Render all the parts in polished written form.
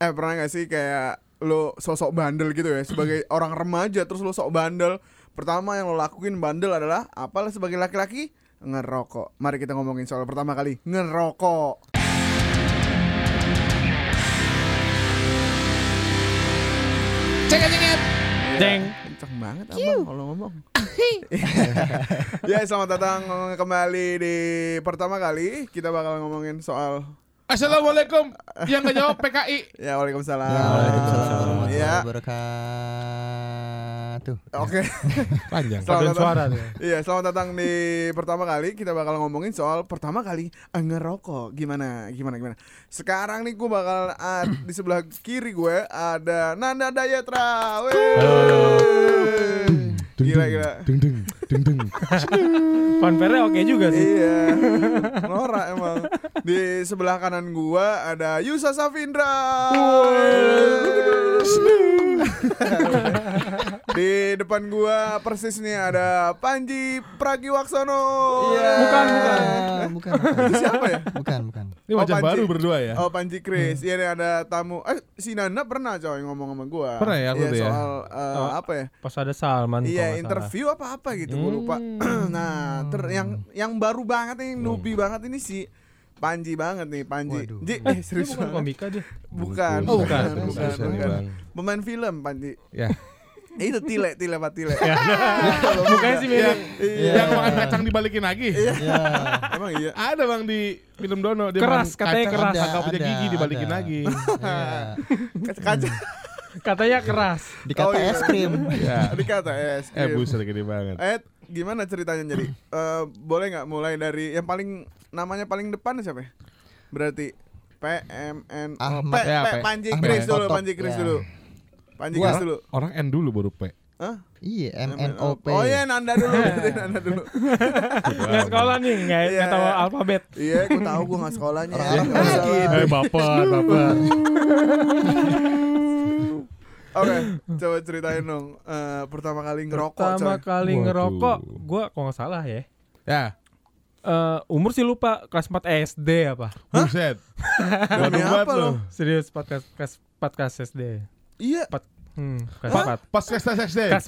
Pernah gak sih kayak lo sosok bandel gitu ya sebagai orang remaja terus lo sok bandel. Pertama yang lo lakuin bandel adalah apalah sebagai laki-laki? Ngerokok. Mari kita ngomongin soal pertama kali ngerokok. Cengit. Jeng. Kenceng banget abang kalau ngomong. Ya, selamat datang kembali di pertama kali. Kita bakal ngomongin soal Assalamualaikum. Yang gak jawab PKI. Ya, waalaikumsalam. Waalaikumsalam warahmatullahi Ya. wabarakatuh. Oke. Panjang. Selamat suara datang. tuh. Iya, selamat datang di pertama kali. Kita bakal ngomongin soal pertama kali ngerokok. Gimana? Sekarang nih gue bakal di sebelah kiri gue ada Nanda Dayetra. Gila. Deng. Fanfare oke juga sih. Iya. Norak emang. Di sebelah kanan gua ada Yusa Safindra. Di depan gua persis nih ada Panji Pragiwaksono. Iya. Bukan. Itu siapa ya? Bukan. Ini wajah Panji. baru berdua ya. Oh, Panji Kris. Iya nih ada tamu. Si Nanda pernah coy ngomong sama gua. Pernah ya, aku Iya, tuh ya? soal apa ya? Pas ada Salman. kalau Iya, nggak interview apa gitu gua lupa. Nah, yang baru banget nih, newbie banget ini si Panji banget nih, Panji. Waduh. salah. Serius Dia bukan banget. komika dia. Bukan. Oh, bukan. Bang. Pemain film Panji. Ya. Itu Tile Pak Tile. Mukanya sih mirip. Yang makan kacang dibalikin lagi. Iya. Emang iya. Ada Bang di film Dono dia Keras, makan katanya kacang, keras. kagak punya gigi dibalikin ada. lagi. Iya. Kaca. Katanya keras. Dikata Oh, iya. es krim. Ya. Dikata es krim. Buset gede banget. Gimana ceritanya jadi? Boleh nggak mulai dari yang paling namanya paling depan siapa ya? Berarti PMN Ahmad. Panji Ahmad Kris dulu, Potop. Panji Kris Ya. dulu. Panji Gua- Kris dulu. Orang N dulu baru P. Hah? Iya, MNOP. Oh iya, Nanda dulu. Nanda dulu. Nggak sekolah nih, nggak Iya. tahu alfabet. Iya, aku tahu gue nggak sekolahnya. Orang-orang Nggak lagi. salah. Baper. Oke, coba ceritain dong. Pertama kali ngerokok, Pertama coy. kali Waduh. ngerokok, gue kalau nggak salah ya. Ya. Umur sih lupa, kelas 4 SD apa? Buset. Demi apa lo? Serius, kelas 4 kelas SD. Iya. Kelas 4. Pas SD. Kelas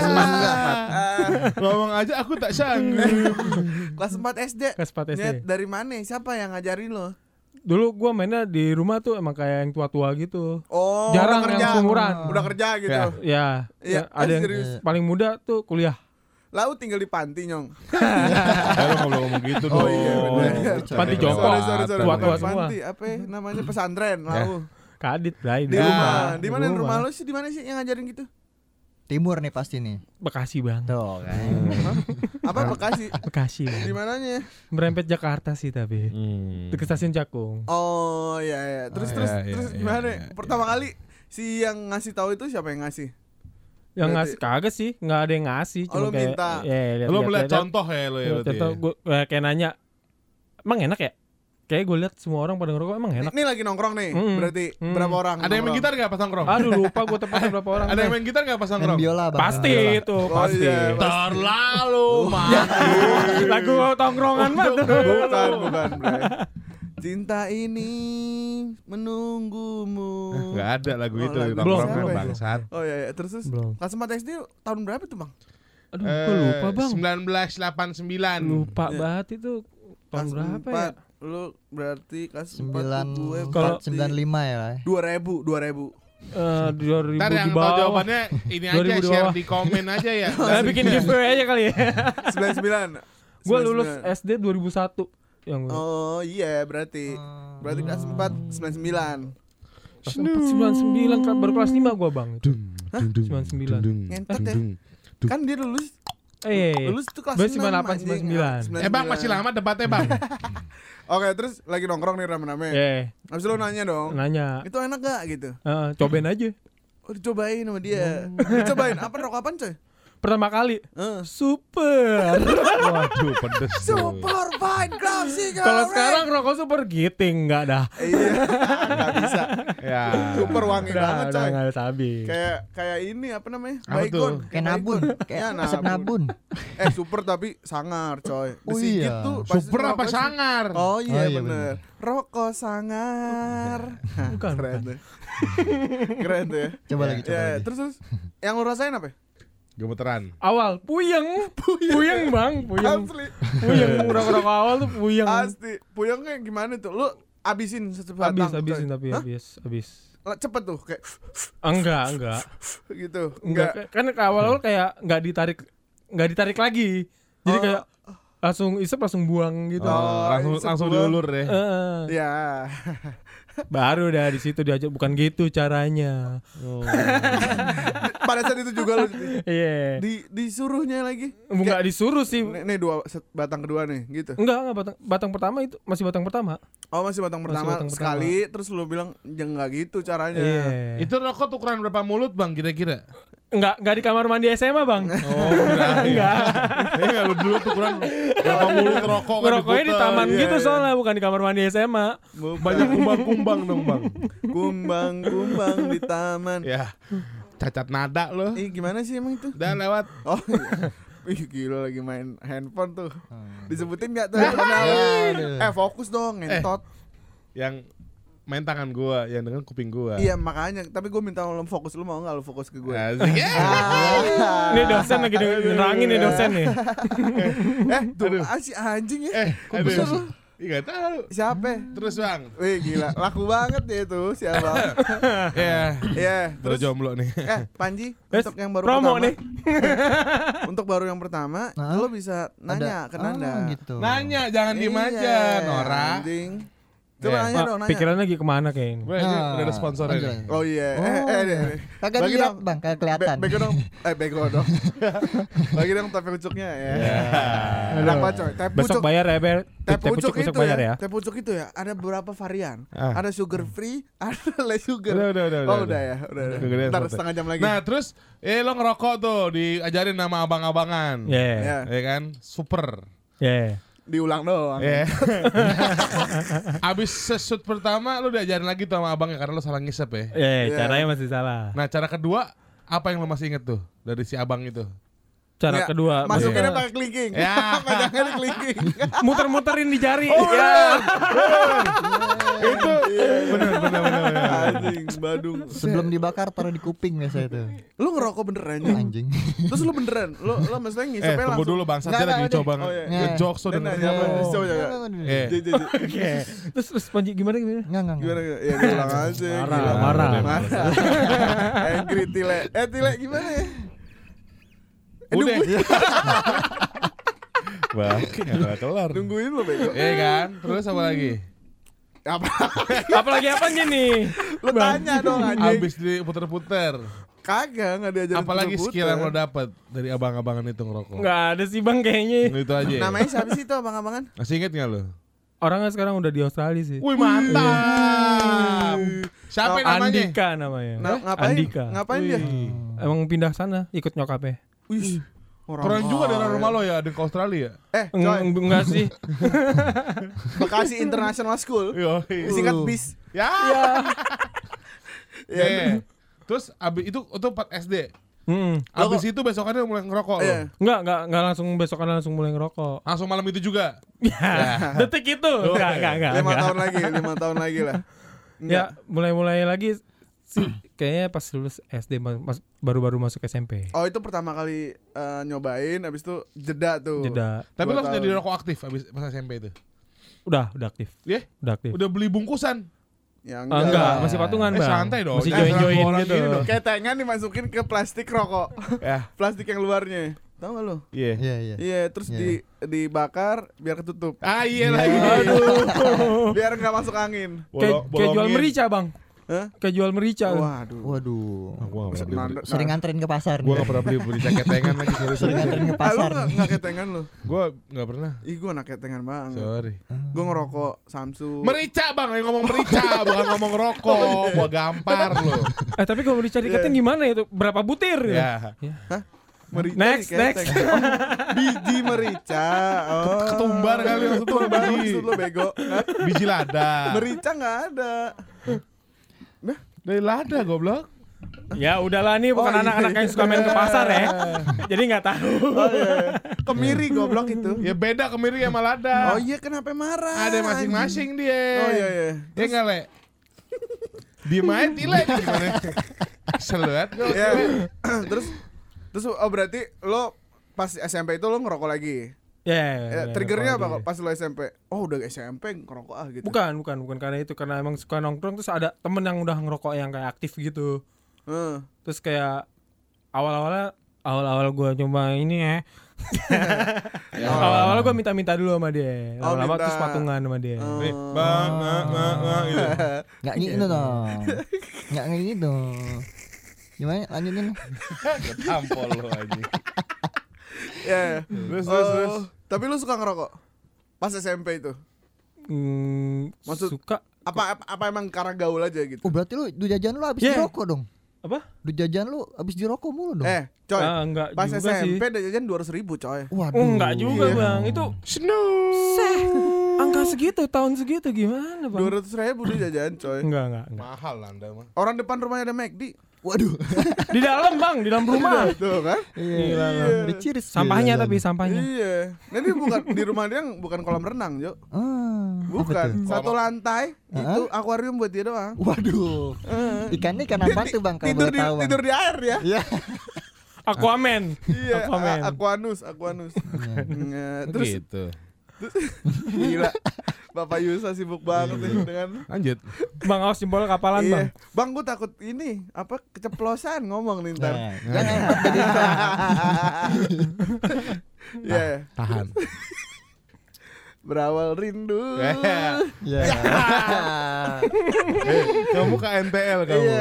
4. Ngomong aja aku tak sanggup. Kelas 4 SD. Kelas 4 SD. Nyet, dari mana? Siapa yang ngajarin lo? Dulu gue mainnya di rumah tuh emang kayak yang tua-tua gitu. Oh, Jarang udah yang kerja. seumuran. Udah kerja gitu. Ya. Ya, Iya, ada yang serius. paling muda tuh kuliah. Lalu tinggal di panti, Nyong. Lo ngobrol ngomong gitu dong. Oh, iya, bener. Panti jompo. Sorry. Tua-tua Bukan semua. panti, apa ya namanya, pesantren, lalu. Kadit, Bray. Di rumah. Di mana rumah lo sih? Di mana sih yang ngajarin gitu? Timur nih pasti nih. Bekasi, Bang. Tuh kan. Apa Bekasi? Bekasi. Di mananya? Merempet Jakarta sih tapi. Dekat stasiun Cakung. Oh, iya. Terus gimana? iya. Pertama kali si yang ngasih tahu itu siapa yang ngasih? Yang Berarti- ngasih kagak sih, enggak ada yang ngasih, Oh, lu minta. Lo melihat contoh ya lo ya. berarti Contoh ya? gue kayak nanya, emang enak ya? Kayak gue lihat semua orang pada ngerokok emang enak. Ini lagi nongkrong nih. Berarti berapa orang? Ada yang main nongkrong? gitar nggak pas nongkrong? Aduh lupa gue tepatnya berapa orang. Ada yang main gitar nggak pas Main nongkrong? biola Bang. Pasti Main biola. itu, Oh, pasti. iya. Terlalu Lagu tongkrongan mah. Bukan, Bre. Cinta ini menunggumu. Nggak ada lagu Oh, itu lagu di nongkrong siapa lo ya? bangsat. Oh iya. Terus Belum. kelas 4 SD tahun berapa tuh, Bang? Aduh, gue lupa bang. 1989. Lupa Ya. banget itu tahun Kelas berapa 4. ya? Lu berarti kelas 4 gue 9495 ya lah. 2000. 2000 Ntar yang di tahu bawah. jawabannya ini 2000 aja di share bawah. di komen aja ya. Nah, bikin giveaway aja kali ya. 99. Gue lulus SD 2001. Yang Oh iya, berarti kelas 4 99. kelas 4 99 baru kelas 5 gue bang. Itu. 99. Ngentot ya. Kan dia lulus Iya. lulus tuh kelas Berarti 6 98, anjing. 99. Bang masih lama debatnya bang. Oke, terus lagi nongkrong nih rame-rame. Iya. Habis lu nanya dong. Nanya. Itu enak gak gitu? Cobain aja. Oh, dicobain sama dia. Dicobain apa rokok apaan, coy? pertama kali. Eh. Super. Waduh, pedes tuh. Super fine ground cigarette. Kalau sekarang rokok super giting enggak dah. Iya, nggak bisa. Ya. Super wangi banget Udah coy. enggak ada sabi. Kayak ini apa namanya? Apa tuh? Baygon. Kayak nabun, Ya, kayak asap nabun. Super tapi sangar coy. Oh Disigit iya. tuh pasti Super apa rokok- sangar? Oh iya, Oh iya, bener. Rokok sangar. Bukan, Keren bukan. tuh. Keren tuh ya. Coba lagi, coba Ya, lagi. terus yang lu rasain apa? Gemeteran. Awal puyeng. Puyeng, Bang, puyeng. Asli. Puyeng rokok-rokok awal tuh puyeng. Asli. Puyengnya gimana tuh? Lu abisin sebatang. Habisin coy. tapi Hah? habis. Cepet tuh kayak Enggak. gitu. Enggak. Kan awal-awal kayak enggak ditarik lagi. Jadi Oh. kayak langsung isep langsung buang gitu. Oh, langsung sebuah- diulur deh. Ya. Baru dah di situ diajak bukan gitu caranya. Pada saat itu juga lu Iya. disuruhnya lagi. Enggak disuruh sih. Nih batang kedua nih gitu. Enggak batang pertama itu masih batang pertama. Oh masih batang pertama batang sekali terus lu bilang jangan nggak gitu caranya. Iya. Itu rokok ukuran berapa mulut bang kira-kira? Enggak di kamar mandi SMA, Bang. Oh enggak. Enggak lu dulu tuh ukuran berapa mulut rokok kan Ngerokoknya di diputer. taman Iya, gitu iya. soalnya bukan di kamar mandi SMA. Banyak kumbang-kumbang dong bang. Kumbang di taman. Ya. Cacat nada lo. Gimana sih emang itu? Udah lewat. Oh iya. Ih gila lagi main handphone tuh. Disebutin nggak tuh? Aduh. Fokus dong ngentot. Yang main tangan gua, yang dengan kuping gua. Iya makanya. Tapi gue minta lo fokus, lu mau nggak lu fokus ke gue? Asik ya. Ini dosen lagi nerangin nih dosen nih. Tuh si anjing ya. Kok bisa lu? Iya gak tahu. Siapa? Terus bang. Wih gila, laku banget ya itu siapa? Ya. Iya. Terus jomblo nih. Panji, Wes, untuk yang baru promo pertama nih. Untuk baru yang pertama, Nah, lo bisa nanya ke Nanda. gitu. Nanya jangan diem aja, Nora. Anjing. Coba Eh, nanya dong, nanya. Pikiran lagi kemana kayaknya. Udah ada sponsornya nih. Oh iya. Deh. Kagak Bagi lihat dong. bang, kagak kelihatan. Bego dong. Bego dong. Bagi dong teh pucuknya ya. Aduh. Kenapa coy? Teh Besok pucuk. bayar ya, Ber. Teh pucuk besok itu bayar ya. Teh pucuk itu ya ada beberapa varian. Ah. Ada sugar free, ada less sugar. Udah. Oh udah ya, udah. Kegedean Ntar spotnya. setengah jam lagi. Nah terus, lo ngerokok tuh, diajarin nama abang-abangan. Iya. Ya, Ya kan, super. Iya. diulang doang. Ya. Abis sesut pertama, lo diajarin lagi tuh sama abangnya karena lo salah ngisep ya. Iya, caranya masih salah. Nah cara kedua, apa yang lo masih inget tuh dari si abang itu? Cara Ya, kedua masukinnya masih- pakai kelingking. Ya. Pegangnya di kelingking. muter-muterin di jari. Oh, Ya. Itu bener. Anjing, badung. Sebelum dibakar taruh di kuping biasa itu. Lu ngerokok beneran ya? Anjing. Terus lu beneran? Lu maksudnya ngisepnya Tunggu langsung? dulu bang, Nggak, dia lagi nggak, coba oh, iya. ngejokes tuh Dia dengerin. nanya apa? Oh. Coba. Eh. Jadi. Oke. Terus Panji gimana? Enggak. Gimana? Ya diulang aja. Marah, gila. marah. Angry Tile. Tile gimana ya? Udah. Nungguin, Bang, nggak kelar. nungguin lo bego. Kan, terus apa lagi? Apa? Apalagi apa nih? Lu tanya dong anjing. Abis diputer-puter. Kagak, enggak diajarin. Apalagi puter-puter. skill yang lo dapet dari abang-abangan itu ngerokok? Enggak ada sih Bang kayaknya. Itu aja. Namanya siapa sih itu abang-abangan? Masih inget gak lo? Orangnya sekarang udah di Australia sih. Wih mantap. Siapa namanya? Andika namanya. Ngapain? Andika. Ngapain dia? Wih. Emang pindah sana ikut nyokapnya. Wih. Keren juga dari rumah lo ya, ada ke Australia. Coy, Enggak sih. Bekasi International School. Yo. Disingkat BIS. Ya. Iya. Terus abis itu 4 SD. Hmm. Abis itu besokannya mulai ngerokok lo. Iya. Enggak langsung besokan langsung mulai ngerokok. Langsung malam itu juga. Ya, detik itu. Enggak. 5 tahun lagi lah. Ya, mulai lagi sih kayaknya pas lulus SD baru-baru masuk SMP. Oh itu pertama kali nyobain, abis itu jeda tuh. Jeda. Tapi 2 lo tahun. jadi rokok aktif abis pas SMP itu. Udah aktif. Iya? Udah aktif. Udah beli bungkusan. Ya, Enggak, masih patungan, Bang. Santai dong. Masih Jangan join-join orang gitu. gini dong. Ketengan dimasukin ke plastik rokok. Ya. Plastik yang luarnya. Tahu gak lu? Iya. Iya. Iya, terus Iya. dibakar biar ketutup. Iya lagi. Biar nggak masuk angin. Kayak jual merica, Bang. Hah? Kayak jual merica. Waduh. Waduh. Gua gak pernah beli. Sering nganterin ke pasar. Gua gak pernah beli berica ketengan lagi. Sering nganterin ke Ah, lu pasar. nggak ketengan lu? Gua gak pernah. Ih, gua anak ketengan banget. Sorry. Gua ngerokok Samsu. Merica bang, yang ngomong merica bukan ngomong rokok. Gua gampar lo. Tapi kalau merica diketin gimana itu? Berapa butir? Ya. Merica Next, diketek. Oh, biji merica. Oh. Ketumbar kali maksud lu, Ketumbar biji. maksud lu bego. Hah? Biji lada. Merica enggak ada. Dari lada goblok. Ya udahlah nih bukan Oh, iya, anak-anak yang suka main ke pasar ya. Jadi nggak tahu. Oh iya. Kemiri goblok itu. Ya beda kemiri sama lada. Oh iya kenapa marah? Ada masing-masing dia. Oh iya iya. Ya enggak, Le? Diem aja Tile gimana? Asal banget gua. Ya. Terus berarti lo pas SMP itu lo ngerokok lagi. Ya. Triggernya apa kalau kok pas lo SMP? Oh udah SMP ngerokok gitu. Bukan karena itu, karena emang suka nongkrong terus ada temen yang udah ngerokok yang kayak aktif gitu. Terus kayak awal-awal gue coba ini ya. Awal-awal gue minta dulu sama dia. Lama-lama terus patungan sama dia. Bang, gitu. Nggak gitu dong. Nggak gitu. Gimana lanjutin? Tampol lo aja. Ya. Terus. Tapi lu suka ngerokok? Pas SMP itu? Maksud- Suka Apa emang karena gaul aja gitu? Oh berarti lu duit jajan lu habis Yeah. dirokok dong. apa? Duit jajan lu habis dirokok mulu dong. Coy. Enggak Pas juga SMP sih. udah jajan 200.000 coy. Waduh. Oh, enggak juga Iya. bang. Itu angka segitu, tahun segitu gimana bang? 200.000 udah jajan coy. Enggak. Mahal Anda mah. Orang depan rumahnya ada McD. Waduh. Di dalam bang, di dalam rumah. Tuh kan? Iya. Diciris. Sampahnya Jajan. tapi sampahnya. Iya. Nah ini bukan di rumah dia bukan kolam renang, Jo. Apa Bukan. tuh? Satu lantai itu akuarium buat dia doang. Waduh. Ikannya ikan apa tuh bang kalau Tidur boleh di tahu? Bang? tidur di air ya. Iya. Aquaman. Iya, Aquaman. Aquanus. Terus Gitu. gila. Bapak Yusa sibuk banget nih dengan Lanjut. Bang awas jempol kapalan bang. Iya. Bang, gue takut ini apa keceplosan ngomong nih ntar. Nah, jangan jadi Iya. Tahan. Berawal rindu. Ya. Kamu ke NTL kamu. Iya.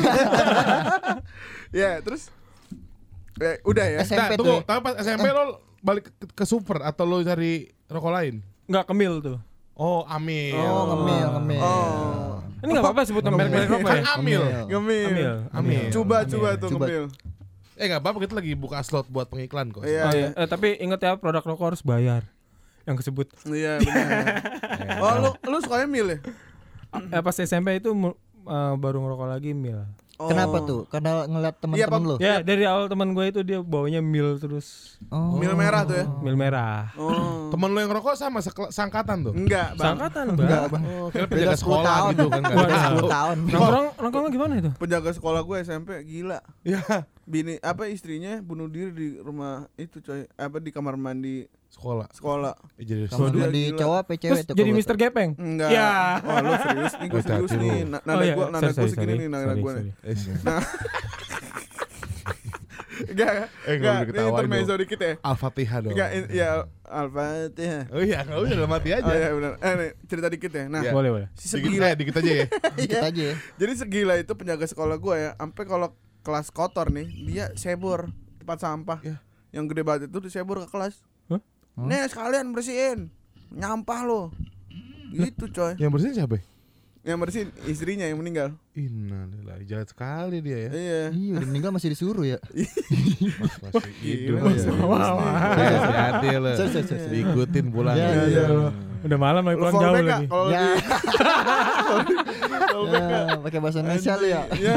Ya, terus udah ya. Nah, SMP tunggu, tuh. tapi pas SMP lo balik ke super atau lo cari rokok lain? Enggak kemil tuh. Oh, Amil. Oh, ngemil. Oh. Ini enggak apa-apa sebut merek-merek rokok Kan ya. Amil. Ngemil. Amil. Coba tuh Coba. ngemil. Enggak apa-apa, kita lagi buka slot buat pengiklan kok. Iya. Oh, iya. Tapi ingat ya produk rokok harus bayar. Yang kesebut. Iya, benar. Oh, lu sukanya mil ya? Pas SMP itu baru ngerokok lagi mil. Oh. Kenapa tuh? Karena ngeliat teman-teman lu. Ya dari awal teman gue itu dia bawanya mil terus. Oh. Mil merah tuh ya? Mil merah. Oh. Temen lo yang rokok sama sangkatan tuh? Enggak, Bang. Sangkatan Enggak, bang. Bang. Oh, kira Beda penjaga 10 sekolah tahun. gitu kan. Waduh. Nggak tahu. 10 tahun. Nongkrongnya gimana itu? Penjaga sekolah gue SMP gila. Ya, Bini istrinya bunuh diri di rumah itu coy. Di kamar mandi sekolah. sekolah. Jadi Kamu Dia di gila. cowok apa cewek Terus tuh? jadi kalau Mr. Gepeng? Enggak. Ya. Oh, lu serius nih, gue serius Hati-hati nih. lu. Nada gue segini nih, nada gue nih. Enggak. Nggak boleh Ini ketawa intermezzo dong. dikit ya. Al-Fatihah dong. Enggak, ya Al-Fatihah. Oh iya, enggak usah dalam hati aja. Oh iya benar. Nih, cerita dikit ya. Nah, Iya. Boleh. si Dikit, segila. dikit aja ya. Dikit aja ya. Jadi segila itu penjaga sekolah gue ya, sampai kalau kelas kotor nih, dia sebur tempat sampah. Ya. Yang gede banget itu disebur ke kelas. Hah? Nih sekalian bersihin. Nyampah lo. Gitu coy. Yang bersihin siapa? Yang bersihin istrinya yang meninggal. Innalillahi, jahat sekali dia ya. Iya. Iya, udah meninggal masih disuruh ya. Masih hidup Gila, ya. Wah. Hati-hati lo. Diikutin pulang. Ya, iya. Udah malam lagi Lu pulang jauh fallback lagi. Kak, kalau Ya. lagi fallback Kak. Ya, pakai bahasa Indonesia lu ya. Iya.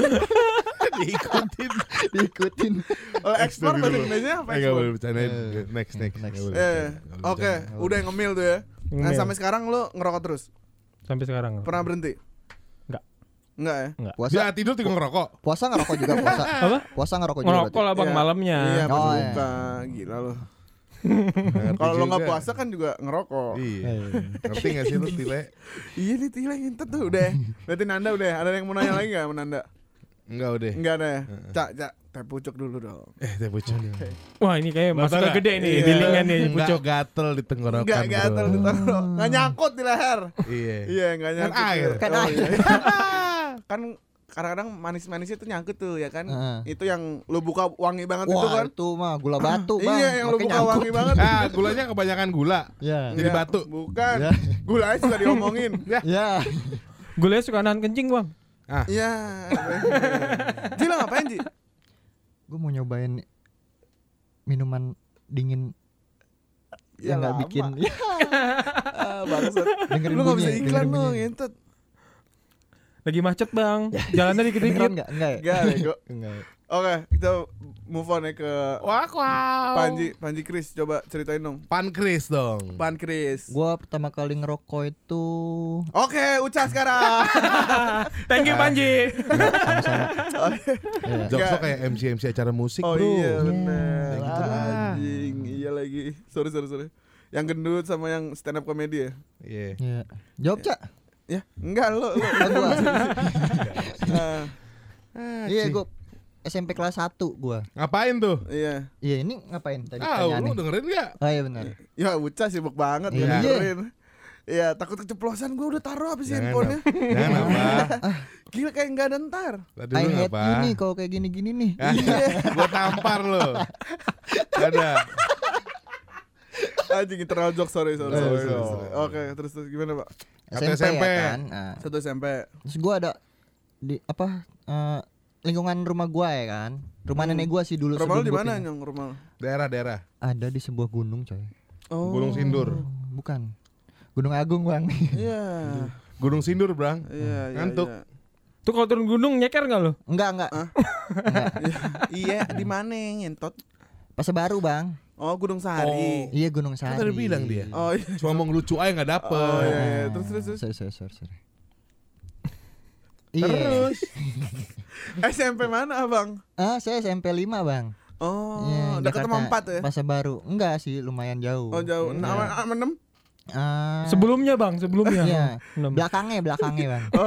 Diikutin. Kalau ekspor bahasa Indonesia apa Enggak ekspor? boleh bercandain. Next. Next. Nggak boleh Eh, bercanda. Nggak boleh oke, bercanda. udah ngemil tuh ya. Nah, Ngemil. sampai sekarang lu ngerokok terus? Sampai sekarang. Pernah berhenti? Enggak. Enggak ya? Puasa Dia tidur tinggal ngerokok. puasa ngerokok juga puasa. Apa? Puasa ngerokok juga. Ngerokok berarti. lah bang Iya. malamnya. Iya, pas Oh, iya. buka. Gila lu. Ngerti Kalau lu nggak juga. puasa kan juga ngerokok. Iya. Ngerti gak sih lu Tile? Iya nih Tila ngintet tuh udah. Berarti Nanda udah. Ada yang mau nanya lagi gak sama Nanda? Enggak udah. Enggak ada ya? Cak, teh pucuk dulu dong. Teh pucuk. Wah ini kayak Lo tau masuk nggak? gede nih, Iya. bilingan nih Enggak pucuk. gatel di tenggorokan. Enggak gatel bro. ditaruh. Enggak nyangkut di leher. Iya. Iya, enggak Kan nyangkut. air. Oh, Kan air. iya. Kan kadang-kadang manis-manisnya tuh nyangkut tuh ya kan. Heeh. Itu yang lu buka wangi banget itu Wah, kan. itu mah gula batu, Bang. Iya, yang lu Makanya buka nyangkut. wangi banget. Ah, gulanya kebanyakan gula. Ya. Jadi Iya, batu. Bukan. Ya. Gulanya suka diomongin. Ya. Gulanya suka nahan kencing bang. Ah, Iya. Ji lo ngapain Ji? Gue mau nyobain minuman dingin Ya yang nggak lama. bikin Bangsat. dengerin Lu enggak bisa bunyinya, iklan dengerin dong, bunyinya. ngentot. Lagi macet bang, jalannya dikit-dikit. Kedengeran enggak ya? Enggak bego. Enggak. Oke, kita move on ya ke Wow. Panji Chris, coba ceritain dong. Pankris dong. Pan Chris. Gua pertama kali ngerokok itu Oke, Uca sekarang. Thank you Panji. sama-sama. Iya. Jokso kayak MC acara musik Oh bro. iya benar. Kayak gitu dah. Anjing, iya lagi. Sorry. Yang gendut sama yang stand up comedy ya? Iya. Iya. Jawab, Cak. Ya, enggak lo. Oh, gua. Ah, Iya, gua SMP kelas 1 gua. Ngapain tuh? iya. Iya, ini ngapain tadi Ah, lu pertanyaannya? dengerin gak? Oh iya benar. Ya Uca sibuk banget Iya. dengerin. Iya, takut keceplosan gue udah taruh habis Jangan handphonenya. Jangan apa? Gila kayak enggak ada ntar. Tadi I lu hate ngapa? you nih kalau kayak gini-gini nih. Gua tampar lo. Ada. Anjing internal joke, sorry. Sorry. Oke, terus gimana, Pak? Kata SMP, SMP. ya kan. Nah, Satu SMP. terus gua ada di lingkungan rumah gua ya kan. Rumah nenek gua sih dulu. Rumah lu sebelum di gua mana, pindah. Nyong? Rumah lu? Daerah. Ada di sebuah gunung, coy. Oh. Gunung Sindur. Bukan. Gunung Agung, Bang. Iya. Gunung Sindur, Brang. Iya, Ngantuk. iya. Tuh kalau turun gunung nyeker nggak lo? Enggak. Iya, di mana ngentot? Pasar Baru, Bang. Oh, Gunung Sahari. Iya, Gunung Kan Sari. tadi bilang dia. Oh, iya. Cuma mau ngelucu aja gak dapet. Oh, iya. Terus. Sorry. Iya. Terus. SMP mana, Abang? Saya SMP 5, Bang. Oh, Iya, dekat sama Jakarta. 4 ya? Pasar Baru. Enggak sih, lumayan jauh. Oh, jauh. Nama 6? Sebelumnya bang, sebelumnya. Iya. Enam. Belakangnya, Bang. Oh,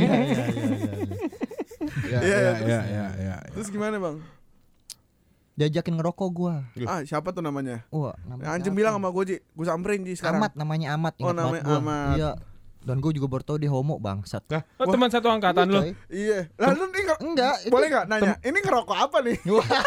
Ya, Iya, ya. terus gimana, Bang? Diajakin ngerokok gua. Siapa tuh namanya? Wah, namanya Anjing apa? bilang sama gue, Ji. Gue samperin, Ji, sekarang. Amat, namanya Amat. Oh, ingat namanya banget gua. Amat. Iya. Dan gue juga baru tahu dia homo, bangsat. Oh, teman satu angkatan lo. Coy. Iya. Lalu nih Enggak, itu- boleh nggak nanya? Ini ngerokok apa nih?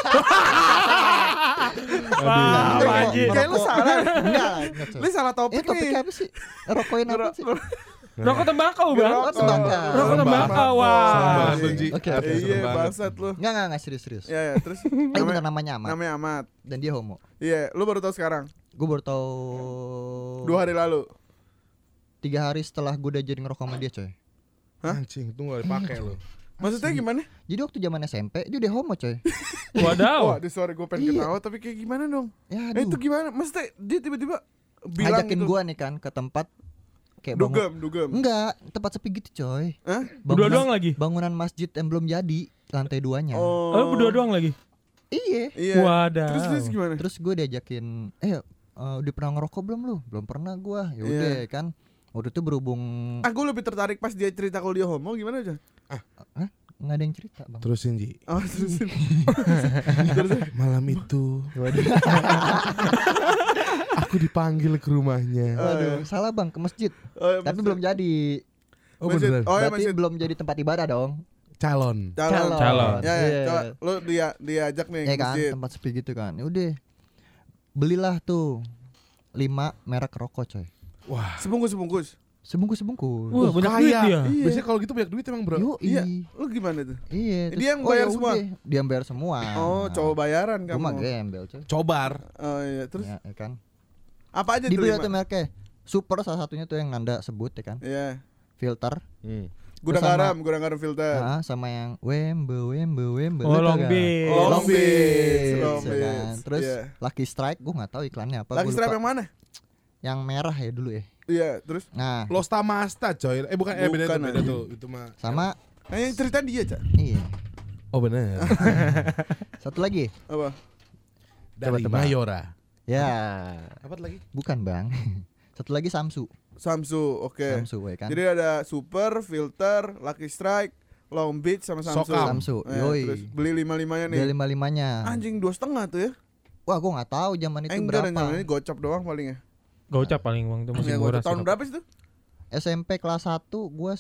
Wah, Panji. Kayak lu salah. Enggak, coy. Lu salah topik Topiknya nih. apa sih? Rokokin apa sih? Rokok tembakau bang. Oh, tembakau. Rokok tembakau, wah. Sama tuh, Ji. Oke. Iya, bangsat lu. Enggak serius. Ya, terus Bener namanya Amat. namanya Amat. Dan dia homo. Iya, lu baru tahu sekarang. Gue baru tahu 2 hari lalu. 3 hari setelah gue udah jadi ngerokok sama dia, coy. Anjing, itu gak dipakai lo. Maksudnya gimana? Jadi waktu zaman SMP dia udah homo, coy. Wadaw. Wah, sorry gue pengen Iya. ketawa tapi kayak gimana dong? Ya, Itu aduh. gimana? Maksudnya dia tiba-tiba bilang Ngajakin gitu. gua nih kan ke tempat kayak bangun. Dugem. Enggak, tempat sepi gitu, coy. Hah? Berdua doang lagi. Bangunan masjid yang belum jadi, lantai 2-nya. Oh, berdua doang lagi. Iya. Iya. Wadaw. Terus gimana? Terus gue diajakin, udah pernah ngerokok belum lu? Belum pernah gua. Ya udah Iya. kan. Waktu itu berhubung Gue lebih tertarik pas dia cerita kalau dia homo gimana aja? nggak ada yang cerita, Bang. Terusin, Ji. Oh, terusin. Malam itu aku dipanggil ke rumahnya. Waduh, salah Bang, ke masjid. Oh, ya, Tapi maksud- belum jadi. Oh masjid. beneran. Oh, ya Berarti masjid. belum jadi tempat ibadah dong. Calon. Calon. Ya, Iya. coba lu diajak nih Ya ke kan, masjid. tempat sepi gitu kan. Ya udah. Belilah tuh 5 merek rokok, coy. Wah. Sebungkus. Sebungkus. Wah, banyak duit Kaya. dia. Iya. Biasanya kalau gitu banyak duit emang, Bro. Yo, Iya. Lu gimana tuh? Iya. Dia yang bayar ya semua? udah, dia yang bayar semua. Oh, cowok bayaran Gua mah kamu. gembel, coy. Cobar. Oh iya, terus Ya kan. apa aja tuh? Dibeli lima? tuh mereknya. Super salah satunya tuh yang Nanda sebut ya kan. Iya. Filter. Gudang garam filter. Sama yang Wembe. Oh, Lu Long tau gak? Beach. Long Beach. ya Long kan. Beach. Terus Iya. Lucky Strike gua enggak tahu iklannya apa. Lucky gua Strike lupa. yang mana? Yang merah ya dulu ya. Iya, terus Nah, Losta Masta, coy. Bukan, beda Bukan, beda tuh. Itu mah. sama yang cerita dia, Cak. iya. Oh bener. Satu lagi. Apa? Dari tebak. Mayora. Ya, Apa lagi? bukan, Bang. Satu lagi Samsu. Samsu, oke. Samsu ya kan. Jadi ada Super, Filter, Lucky Strike, Long Beach sama Samsu. Sokam. Samsu. Terus Yoi. beli 5-5-nya nih. Dia 5-5-nya. Anjing 2,5 tuh ya. Wah, gua enggak tahu zaman itu Enggak berapa. dan ini gocap doang paling ya. Gocap paling bang itu masih Ya, murah gocap tahun sih. berapa sih tuh? SMP kelas 1 gua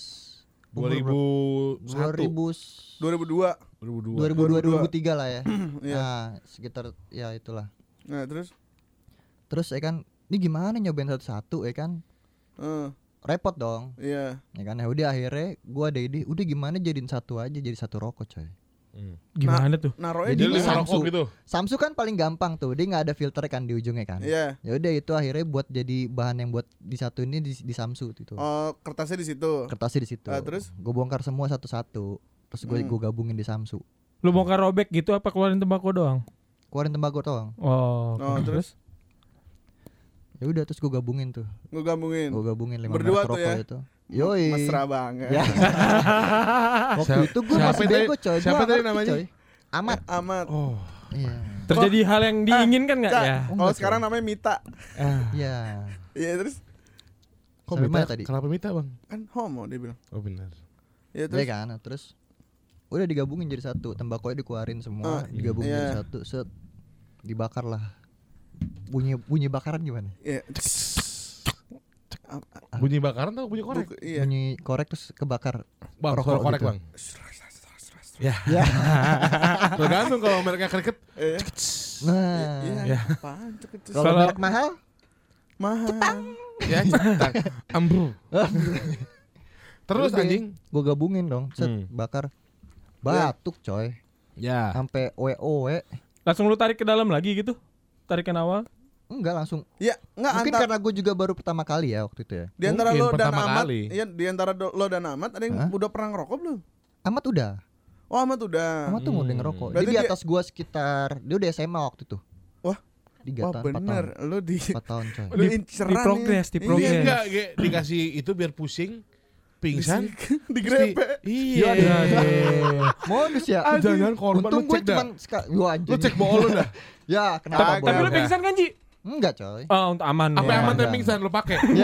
2001. 2002. 2002. 2003 lah ya. Iya. Nah, sekitar ya itulah. Nah, terus Terus ya kan, ini gimana nyobain satu-satu ya kan? Repot dong. iya. Ya kan, ya udah akhirnya gua ada ide, udah gimana jadiin satu aja, jadi satu rokok, coy. Gimana tuh? Naruhnya Jadi di Jadi Samsu. lima rokok gitu. Samsu kan paling gampang tuh, dia nggak ada filter kan di ujungnya kan. Iya. Ya udah itu akhirnya buat jadi bahan yang buat disatuin ini di Samsu itu. Oh, kertasnya di situ. Kertasnya di situ. Terus? Gue bongkar semua satu-satu. Terus gue gabungin di Samsu. Lu bongkar robek gitu apa keluarin tembakau doang? Keluarin tembakau doang. Oh, terus? Ya udah terus gue gabungin tuh. Gue gabungin. Gue gabungin 5 Berdua merek tuh rokok ya? itu. Yoi. Mesra banget. Ya. Waktu itu gue siapa masih tadi- bego coy. siapa Gua tadi ngerti, namanya? coy. Amat. Amat. Oh. Iya. Terjadi hal yang diinginkan enggak Cak, ya? Kalau Enggak, sekarang namanya Mita. Iya. Iya, terus Kok Sampai Mita mana tadi? Kenapa Mita bang? kan homo dia bilang. Oh benar. Iya, Iya terus kan. Terus udah digabungin jadi satu. Tembakau dikeluarin semua, digabungin iya. jadi satu. Set. Dibakar lah. Bunyi bakaran gimana? iya. Bunyi bakaran atau bunyi korek? Iya. Bunyi korek terus kebakar. Bang, Rokok suara korek gitu. bang. Ya. Ya. Tergantung kalau mereknya kriket. Iya. Nah. Iya. Apaan tuh itu? Kalau Kalau- merek mahal, Mahal. Ya cetak. Ambru. Terus udah, anjing. gue gabungin dong, set, bakar. Batuk coy. Ya. Sampai WOW. Langsung lu tarik ke dalam lagi gitu? Tarikan awal? Enggak langsung. Ya, enggak Mungkin antar karena gue juga baru pertama kali ya waktu itu ya. di antara Mungkin lo dan pertama Amat. kali. Iya, di antara lo dan Amat ada yang Hah? udah pernah ngerokok belum? Amat udah. Oh, Amat udah. Amat tuh udah ngerokok. Dia Berarti di dia- atas gua sekitar, dia udah SMA waktu itu. Wah. 3 Wah, tahun, 4 bener. tahun. Lo di 4 tahun coy. Lu Di inceran progres, nih. di progres. Iya Iya. enggak, dikasih itu biar pusing, pingsan, Digrepe. Iya. Modus ya. Jangan korban, Untung lu gue cek dah. cuman Lu cek bool lu dah. Ya, kenapa Tapi lu bohong? pingsan kan, Ji? Enggak coy. Oh, untuk aman. Apa ya. aman enggak. pingsan lu pakai? Ya.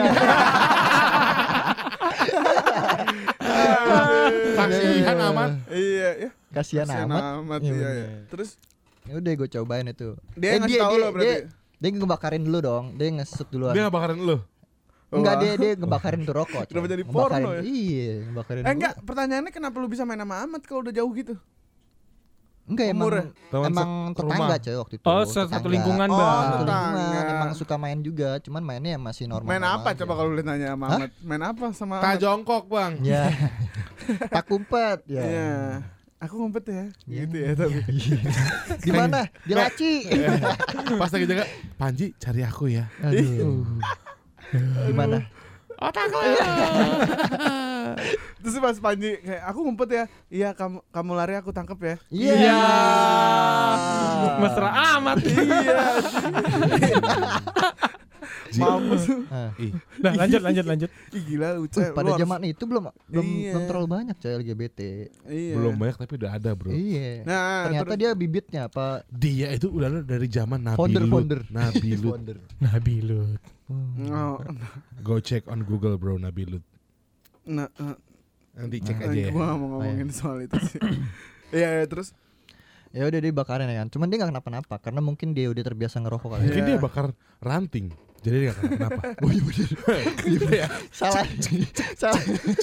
Kasihan aman. Iya, ya. Kasihan amat. Amat Iya, iya, bener. ya. Terus Ya udah gue cobain itu. Dia yang ngasih tahu lo berarti? Dia ngebakarin dulu dong. Dia ngeset duluan. Dia ngebakarin lu. Enggak, Wah. dia ngebakarin tuh rokok. coy. Kenapa jadi Ngebakarin- porno ya? Iya, ngebakarin. enggak, pertanyaannya kenapa lu bisa main sama Amat kalau udah jauh gitu? Enggak emang Umurnya? Teman emang rumah. tetangga coy waktu itu. Oh, satu Tetangga. lingkungan, Oh, Bang. Satu lingkungan. tetangga. Emang suka main juga, cuman mainnya masih normal. Main apa coba kalau lu nanya sama Hah? Amat? Main apa sama Tak Amat? jongkok bang. Ya. Tak kumpet ya. Iya. Aku ngumpet ya. Iya. Gitu ya tapi. Di mana? Di laci. Pas lagi jaga, Panji cari aku ya. Aduh. Gimana? Otak lu. Terus pas Panji kayak aku ngumpet ya. Iya, kamu lari aku tangkep ya. Iya. Mesra amat. Iya. Mampus. Ah. Ih, Nah, lanjut. Ih, gila lucu. Pada zaman itu belum Iya. belum terlalu banyak coy LGBT. Iya. belum banyak tapi udah ada bro. Iya. Nah, Ternyata terus- dia bibitnya apa? Dia itu udah dari zaman Founder. Nabilut. Nabilut. Founder. Nabilut. Oh, Go check on Google bro Nabilut. nah, Nanti cek aja ya. gua mau ngomongin soal itu sih. Iya, terus Ya udah dia bakarin ya kan. Cuman dia enggak kenapa-napa karena mungkin dia udah terbiasa ngerokok kali. Mungkin Iya. dia bakar ranting. Jadi dia gak kenapa. Oh iya bener. Iya. Salah. Salah.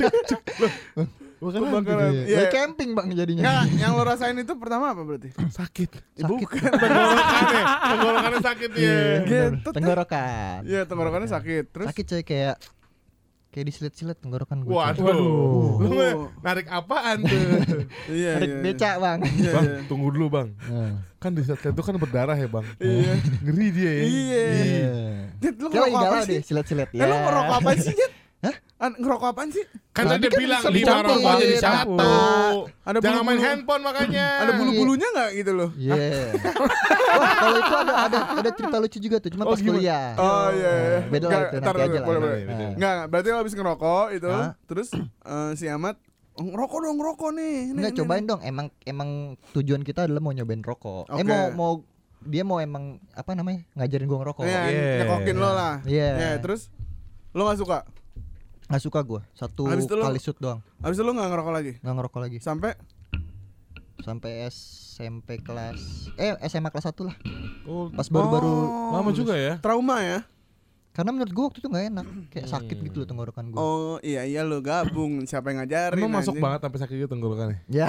Bukan Lu ranting. bakalan- Iya. Iya. Dia camping Bang jadinya. Nggak, yang lo rasain itu pertama apa berarti? Sakit. Bukan. Tenggorokannya sakit dia. Iya, bener. Gitu, tuh. Tenggorokan. Iya, tenggorokannya sakit. Terus Sakit coy kayak disilet-silet tenggorokan gue. Waduh. Lu Waduh. narik apaan tuh? Iya, Ada iya. beca Bang. Iya, Bang, iya. tunggu dulu bang. Nah. Kan di saat itu kan berdarah ya bang. Iya. Ngeri dia ya. Iya. Dit, lu Kayak lagi ngerokok apa galau sih? deh silet-silet ya. Lu ngerokok apa sih, Dit? Hah? Ngerokok apaan sih? Kan Tadi dia kan bilang bisa 5 dicampur. rokok jadi Dicampur. satu. Ada Jangan main bulu-bulu. handphone makanya. Ada bulu-bulunya enggak gitu loh? Iya. Wah, kalau itu ada cerita lucu juga tuh, cuma Oh, pas gimana? kuliah. Oh iya, iya. Beda lah Nggak, itu ntar nanti dulu, aja lah. boleh, boleh. Nah. Enggak, berarti lo habis ngerokok itu, Hah? terus si Amat ngerokok dong, ngerokok nih. Enggak cobain dong. Emang tujuan kita adalah mau nyobain rokok. Oke. Mau dia mau emang apa namanya? Ngajarin gua ngerokok. Iya, Iya. nyekokin lo lah. Iya. Iya, terus lo gak suka? Nggak suka gua. Satu Habis itu lo- kali shoot doang. Habis itu lo gak ngerokok lagi? Nggak ngerokok lagi. Sampai Sampai SMP kelas SMA kelas 1 lah. Oh, Pas baru-baru Oh, lama juga ya. trauma ya? karena menurut gua waktu itu nggak enak, kayak sakit gitu loh tenggorokan gua. Oh iya lo gabung, siapa yang ngajarin? Emang masuk anjing? banget sampai sakit gitu tenggorokannya. Ya,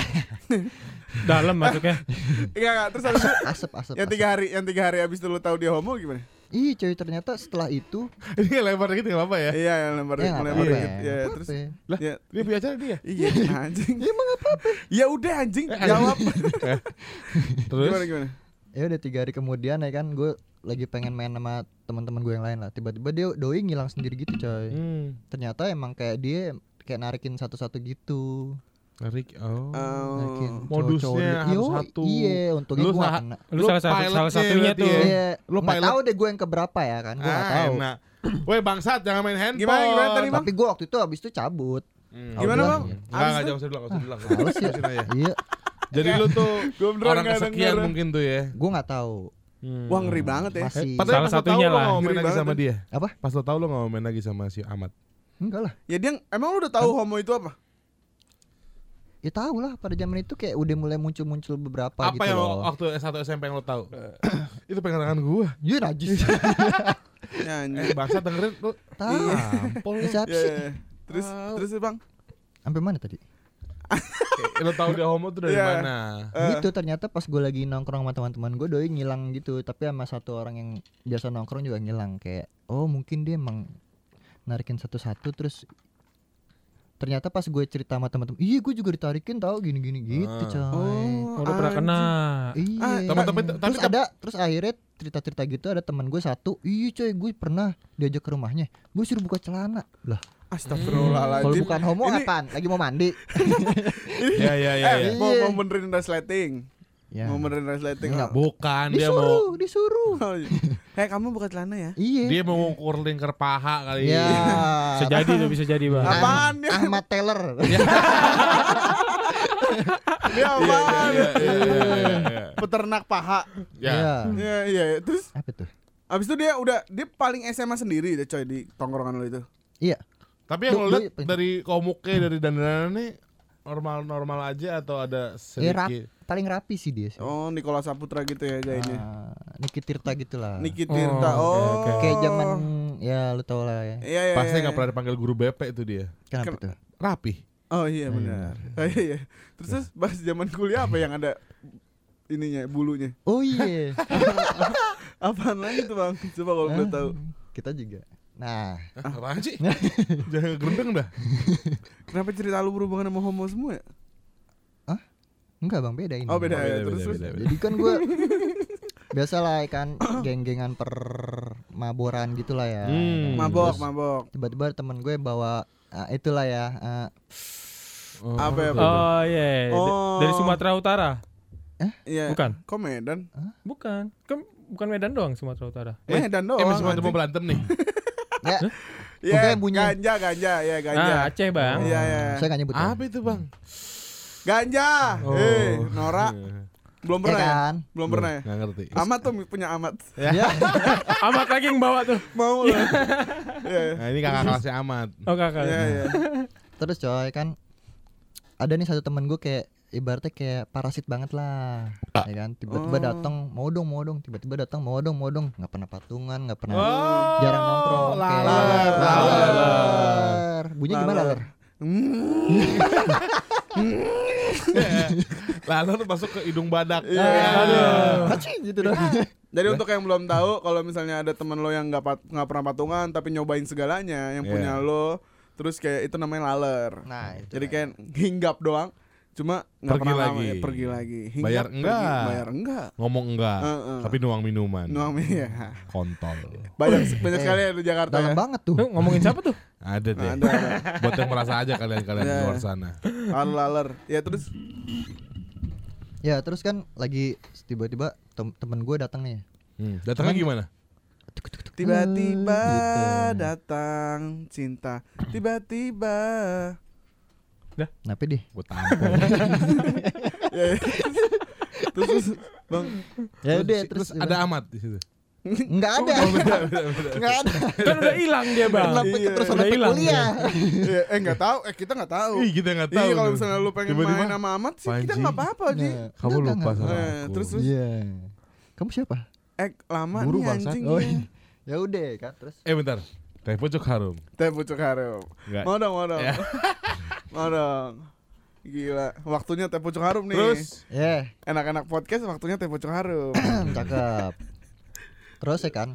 Dalam masuknya. Enggak, terus habis itu asap. yang 3 hari habis itu lo tahu dia homo gimana? Ih coy ternyata setelah itu Ini lempar dikit enggak apa-apa ya? Iya, lempar ya nggak lempar apa-apa. dikit. Ya, terus Lah, ya, dia punya acara dia. iya anjing. Ya emang apa-apa. Ya udah anjing, jawab. Terus Gimana? Ya udah 3 hari kemudian ya kan gue lagi pengen main sama teman-teman gue yang lain lah. Tiba-tiba dia doi ngilang sendiri gitu coy. Ternyata emang kayak dia kayak narikin satu-satu gitu. Narik. Narikin Modusnya cowok-cowok. harus Yo, satu. Iya, untungnya Lu gue sah- kena. Lu salah pilotnya satunya berarti tuh. ya? Iya, Lu nggak pilot. tahu deh gue yang keberapa ya kan. Gue nggak tahu. Enak. Woi bangsat jangan main handphone. Gimana tadi, Bang? Tapi gue waktu itu abis itu cabut. Gimana, Udah. Bang? Enggak Abis jangan usah bilang, usah bilang. Males ya. Terusin aja. Iya, Jadi lu tuh Gua beneran orang nggak kesekian denger. mungkin tuh ya. gue nggak tahu. Wah ngeri banget ya. Masih. Padahal Salah pas lo tahu satunya lo lah. nggak mau main Ngeri lagi banget sama kan. dia. Apa? Pas lo tahu lo nggak mau main lagi sama si Ahmad. Enggak lah. Ya dia emang lu udah tahu homo itu apa? Ya tahu lah pada zaman itu kayak udah mulai muncul beberapa Apa gitu yang loh. waktu S1 SMP yang lo tahu? Itu pengen tangan gua. Iya najis. Ya anjing. Bangsa dengerin lu. Tahu. Tampol. Ya, siapa Ya, sih? ya. Terus Bang. Sampai mana tadi? Lo tahu dia homo tuh dari Iya. mana? Gitu ternyata pas gue lagi nongkrong sama teman-teman gue doi ngilang gitu. Tapi sama satu orang yang biasa nongkrong juga ngilang. Kayak oh mungkin dia emang narikin satu-satu terus ternyata pas gue cerita sama teman-teman, iya gue juga ditarikin tahu gini-gini gitu coy. Oh, lu pernah kena. Iya. Tapi Terus akhirnya cerita-cerita gitu ada teman gue satu, iya coy gue pernah diajak ke rumahnya, gue suruh buka celana lah. Astagfirullahaladzim. Kalau bukan homo Ini- apaan? Lagi mau mandi. Ya ya ya. ya. Mau benerin resleting. Ya. Mau benerin resleting. Enggak. Bukan dia mau Disuruh. Oh, iya. Hei kamu buka celana ya? Iya. dia mau ngukur lingkar paha kali. Ya. Bisa jadi tuh, bisa jadi, Bang. Apaan ya? Ahmad Taylor. Dia apaan? Iya. Peternak paha. Ya. Iya iya. Terus Apa tuh? abis itu dia paling SMA sendiri deh coy di tongkrongan lo itu. Iya. Tapi yang lo Lu- lihat dari komuknya dari dandanannya normal-normal aja atau ada sedikit? Paling rapi sih dia sih. Oh Nikola Saputra gitu ya gayanya. Niki Tirta gitulah. Niki Tirta. Oh, Oh. oke, Kayak zaman ya lu tau lah ya. Iya iya. Pasti iya. nggak pernah dipanggil guru BP itu dia. Kenapa tuh? Rapi. Oh iya benar. Oh, iya. Terus pas zaman kuliah apa yang ada ininya bulunya? Oh iya. Apaan lagi tuh Bang? Coba kalau boleh tahu. Kita juga. Nah, Apaan sih? Jangan gerendeng dah. Kenapa cerita lu berhubungan sama homo semua ya? enggak Bang, beda ini. Oh beda ya. Terus Jadi kan gue biasalah kan geng-gengan permaboran gitulah ya. Hmm. mabok. Tiba-tiba temen gue bawa itulah ya. Apa ya? Oh iya, Oh. dari Sumatera Utara. Iya. Bukan. Kok Medan? Bukan. Kan bukan Medan doang Sumatera Utara. Medan doang. Masih mau berantem nih. Ya, Iya, Pokoknya bunyi. ganja, ya ganja. Ah, Aceh, Bang. Iya, iya. saya gak nyebut. Apa itu bang? Ganja. Oh. Nora belum pernah Ya ya? kan? Belum pernah ya? Nggak ngerti. Amat tuh punya Amat. Ya. Amat lagi yang bawa tuh. Mau lah. Iya. Nah ini kakak kelasnya Ahmad. Oh, kakak. Iya, iya. Terus coy kan ada nih satu temen gue kayak ibaratnya kayak parasit banget lah, ya kan? Tiba-tiba datang mau dong, tiba-tiba datang mau dong, nggak pernah patungan, nggak pernah jarang nongkrong, kayak laler. Bunyinya gimana laler? Lalu tuh masuk ke hidung badak. Haci gitu dong. Jadi untuk yang belum tahu, kalau misalnya ada teman lo yang nggak pernah patungan tapi nyobain segalanya yang punya lo, terus kayak itu namanya laler. Nah, itu Jadi kayak hinggap doang, cuma nggak Pergi pernah lagi. lama ya, pergi lagi. Hinggap, Bayar pergi, enggak. bayar enggak. Ngomong enggak, tapi nuang minuman. Nuang ya. Kontol. Banyak sekali ya di Jakarta dalam ya. banget tuh. Tuh, ngomongin siapa tuh? Ada deh. Ada. Buat yang merasa aja kalian-kalian di Iya. luar sana. Laler. Ya terus Ya terus kan lagi tiba-tiba temen gue datang nih. Datangnya gimana? tiba-tiba Gitu. datang cinta. Tiba-tiba. Kenapa deh? Gue tampol. Ya, ya. Terus Bang, Ya udah terus ada Ahmad di situ. nggak ada. Nggak ada. Kan udah hilang dia, Bang. Kenapa Iya, terus udah sampai hilang kuliah? nggak tahu. Kita nggak tahu. Ih, kita nggak tahu. Iya kalau tuh. misalnya lu pengen Tiba-tiba, main sama Amat sih kita Panji. nggak apa-apa Ji. Nah, Kamu lupa enggak. sama Eh, aku. terus Iya. Kamu siapa? Lama Buru, nih bangsat. anjing. Oh, ya. ya udah kan terus. Bentar. Teh pucuk harum. Teh pucuk harum. Enggak. Mau dong. Ya. Mau dong. Gila, waktunya teh pucuk harum nih. Terus Ya, Enak-enak podcast waktunya teh pucuk harum. cakep. Terus ya kan.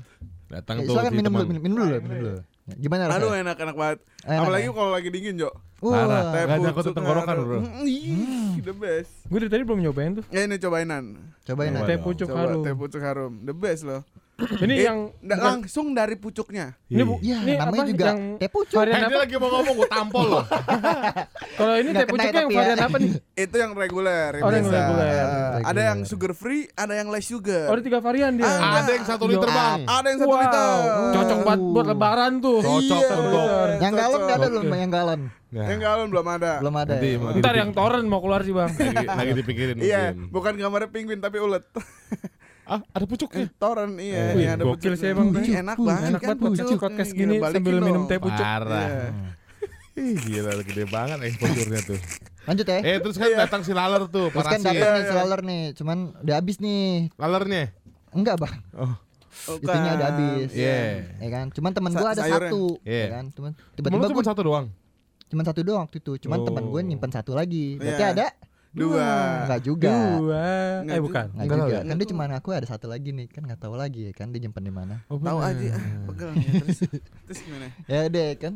Datang tuh Silakan si minum teman. dulu, minum dulu. Gimana Aduh rasanya? enak banget. Enak Apalagi ya? kalau lagi dingin, Jo. Parah. Wah, Teh Gak takut pucuk tenggorokan, harum. bro. Ih, the best. Gue dari tadi belum nyobain tuh. Ya ini cobainan. cobain Coba aja. Teh dong. pucuk Coba harum. teh pucuk harum. The best loh. Ini yang langsung dari pucuknya. ini Ya, ini namanya apa juga yang teh pucuk. varian Dia apa? lagi mau ngomong gue tampol loh. Kalau ini Nggak teh kena pucuknya yang tapi ya. varian apa nih? Itu yang reguler. Oh, yang biasa. reguler. Ada yang sugar free, ada yang less sugar. Oh, ada 3 varian dia. Ah, Ada yang 1 liter bang. Ada yang 1 Wow, liter. cocok banget buat lebaran tuh. Cocok Iya. untuk. Yang galon Cocok. enggak ada loh, yang galon. Nah, Yang galon belum ada. Belum ada. Nanti ya? mau Ntar yang torrent mau keluar sih, Bang. lagi dipikirin Iya, mungkin. bukan gambarnya penguin tapi ulet. Ah, ada pucuknya. Toren iya, Wih, iya, ada gokil pucuk. sih emang, Ih, Bang. enak banget Enak kan banget podcast gini Gila, sambil balikin minum dong. teh pucuk. Parah. Iya. Ih, gila gede banget exposure-nya tuh. Lanjut ya. Terus kan datang si laler tuh, Terus kan parasit. datang nih selaler nih, cuman udah habis nih. Lalernya. Enggak, Bang. Oh, Itunya udah habis. Iya. Ya kan? Cuman teman gua ada Sayurnya. satu, Iya. ya kan? Cuman Temen tiba-tiba lu cuma gua satu doang. cuman satu doang waktu itu. Cuman teman gue nyimpen satu lagi. Berarti Iya. ada Dua. Enggak juga. Nggak Bukan. Enggak Enggak juga. tahu ya? Kan dia cuma aku ada satu lagi nih, kan enggak tahu lagi ya kan dia nyimpen di mana. Oh, Tahu bener. aja pegel ya, terus gimana? Ya deh kan.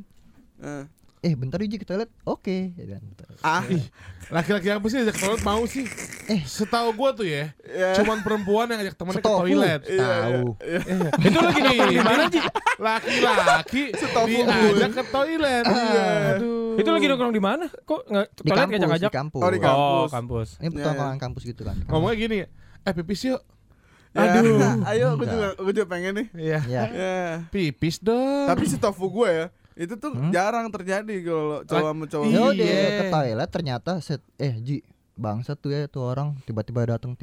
Bentar Uji ke toilet. Oke, ya kan. Laki-laki apa sih ajak toilet mau sih? Setahu gua tuh ya, Ya. cuman perempuan yang ajak temennya ke Setahu. toilet. Tahu. Itu lagi nongkrong di mana, Ji? Laki-laki diajak ke toilet. Aduh. Itu lagi nongkrong di mana? Kok enggak Di toilet kampus, ngajak-ngajak? di kampus. Oh, di Oh, kampus. kampus. Ini pertongkongan kampus gitu kan. Ngomongnya gini, pipis yuk. Aduh. Ayo aku juga pengen nih. Iya. Ya. Ya. Pipis dong. Tapi si tofu gue ya, itu tuh jarang terjadi kalau cowok sama cowok. Ya Iya. udah ke toilet ternyata Ji bangsat tuh ya tuh orang tiba-tiba datang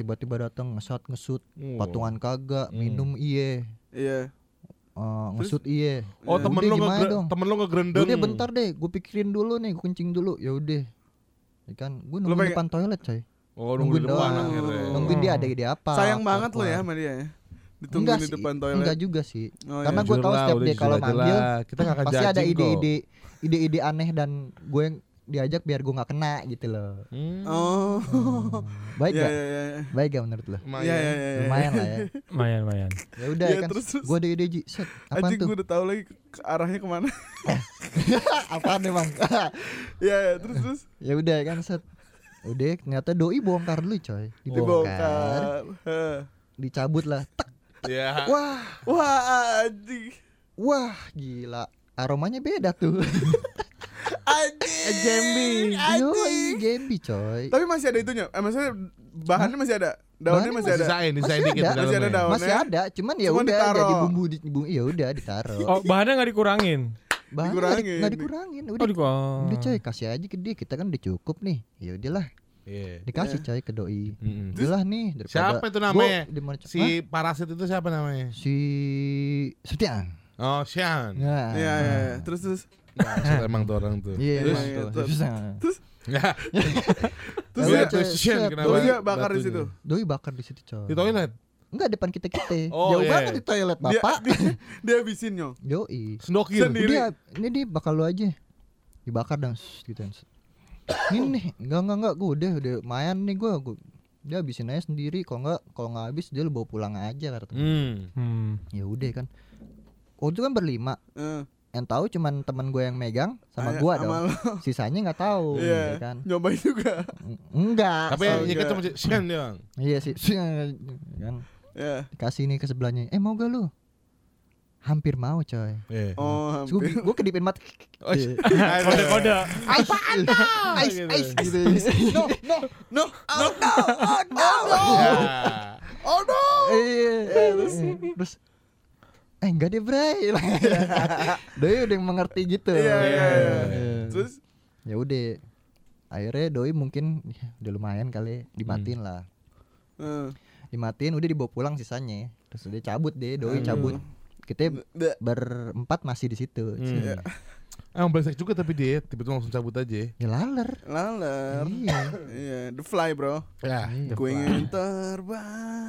ngesut patungan kagak minum iye Iya. ngesut iye. Oh, Ya temen udah, lu gimana dong? temen lu ngegrendeng. Udah bentar deh, gue pikirin dulu nih, gue kencing dulu. Ya udah. Ya kan, gue Lu nungguin pengen- depan toilet, coy. Oh, nunggu di Nungguin depan doang. akhirnya. Nungguin dia ada ide apa. Sayang banget lo keluar. ya sama dia ya. Ditungguin di sih, depan toilet. Enggak juga sih. Oh, Karena iya. gue tahu Jujur lah, setiap udah dia kalau jujur aja manggil lah. Kita nggak akan pasti ada judging kok. ide-ide aneh dan gue yang diajak biar gue nggak kena gitu loh. Oh. Baik Iya gak? iya iya. Baik gak menurut lo? Iya iya iya. Lumayan lah ya. Lumayan. Ya udah Iya, kan. terus. Gue ada ide Ji. Set. Apaan Anjing tuh? gue udah tahu lagi ke arahnya kemana. Apaan emang? Iya iya terus. Ya udah kan set. Udah ternyata doi bongkar dulu coy. Dibongkar. Heh. Dicabut lah. Tek. Ya. Wah, Wah anjing. wah gila. Aromanya beda tuh. Anjing. Jambi. Yoi, Jambi coy. Tapi masih ada itunya. Maksudnya bahannya masih ada. Daunnya Bahannya masih ada. Disain Masih dikit ada. di Masih ada dalamnya. daun. Masih ada, cuman ya Cuman udah ditaro. jadi bumbu ya udah ditaro. Oh, bahannya enggak dikurangin. Bahannya dikurangin. nggak dikurangin. Oh, Udah, udah coy, kasih aja ke dia. Kita kan udah cukup nih. Ya udahlah, Iya. dikasih coy ke doi. Mm-mm. Udahlah nih daripada Siapa itu namanya? Gua dimana- Hah? Si parasit itu siapa namanya? si Setian. Oh, Sian. Nah, Iya iya. iya. Terus. Maksud emang tuh orang tuh. Iya, Terus? emang tuh. Terus? Terus, Ya. Terus Ya ya, udah, coy, Sian set. kenapa? Doi bakar di Batunya. situ. doi bakar di situ coy. Di toilet. Enggak depan kita. Oh, Jauh iya. banget di toilet Dia bapak. dia habisin nyong. Yoi. Sendokir. Sendiri. Dia ini dia bakal lu aja. Dibakar dan gitu. Ini nih, enggak gue udah lumayan nih gue dia habisin aja sendiri. Kalau nggak habis dia lu bawa pulang aja kata. Ya udah kan. Oh itu kan berlima. Yang tahu cuman teman gue yang megang sama gue dong. Sama lo. Sisanya nggak tahu, Iya. ya kan? Nyobain juga. Enggak. Tapi Oh, ya kan enggak. cuma Sian doang. Iya sih. Kan Ya. dikasih nih ke sebelahnya. Mau gak lu? Hampir mau coy. Iya. Oh, hampir. Gue kedipin mata. Oh, Kode-kode. Apaan Gitu. Ice gitu. No. Ya. Oh no. Terus enggak deh Bray. Doi udah mengerti gitu. Iya. Iya. Terus Ya udah. Akhirnya doi mungkin ya, udah lumayan kali dimatiin lah. Dimatiin udah dibawa pulang sisanya. Terus dia cabut deh, doi cabut. Kita berempat masih di situ. Emang brengsek juga tapi dia tiba-tiba langsung cabut aja. Ya laler. laler. Iya. Iya, The Fly, bro. Ya. Ku ingin terbang.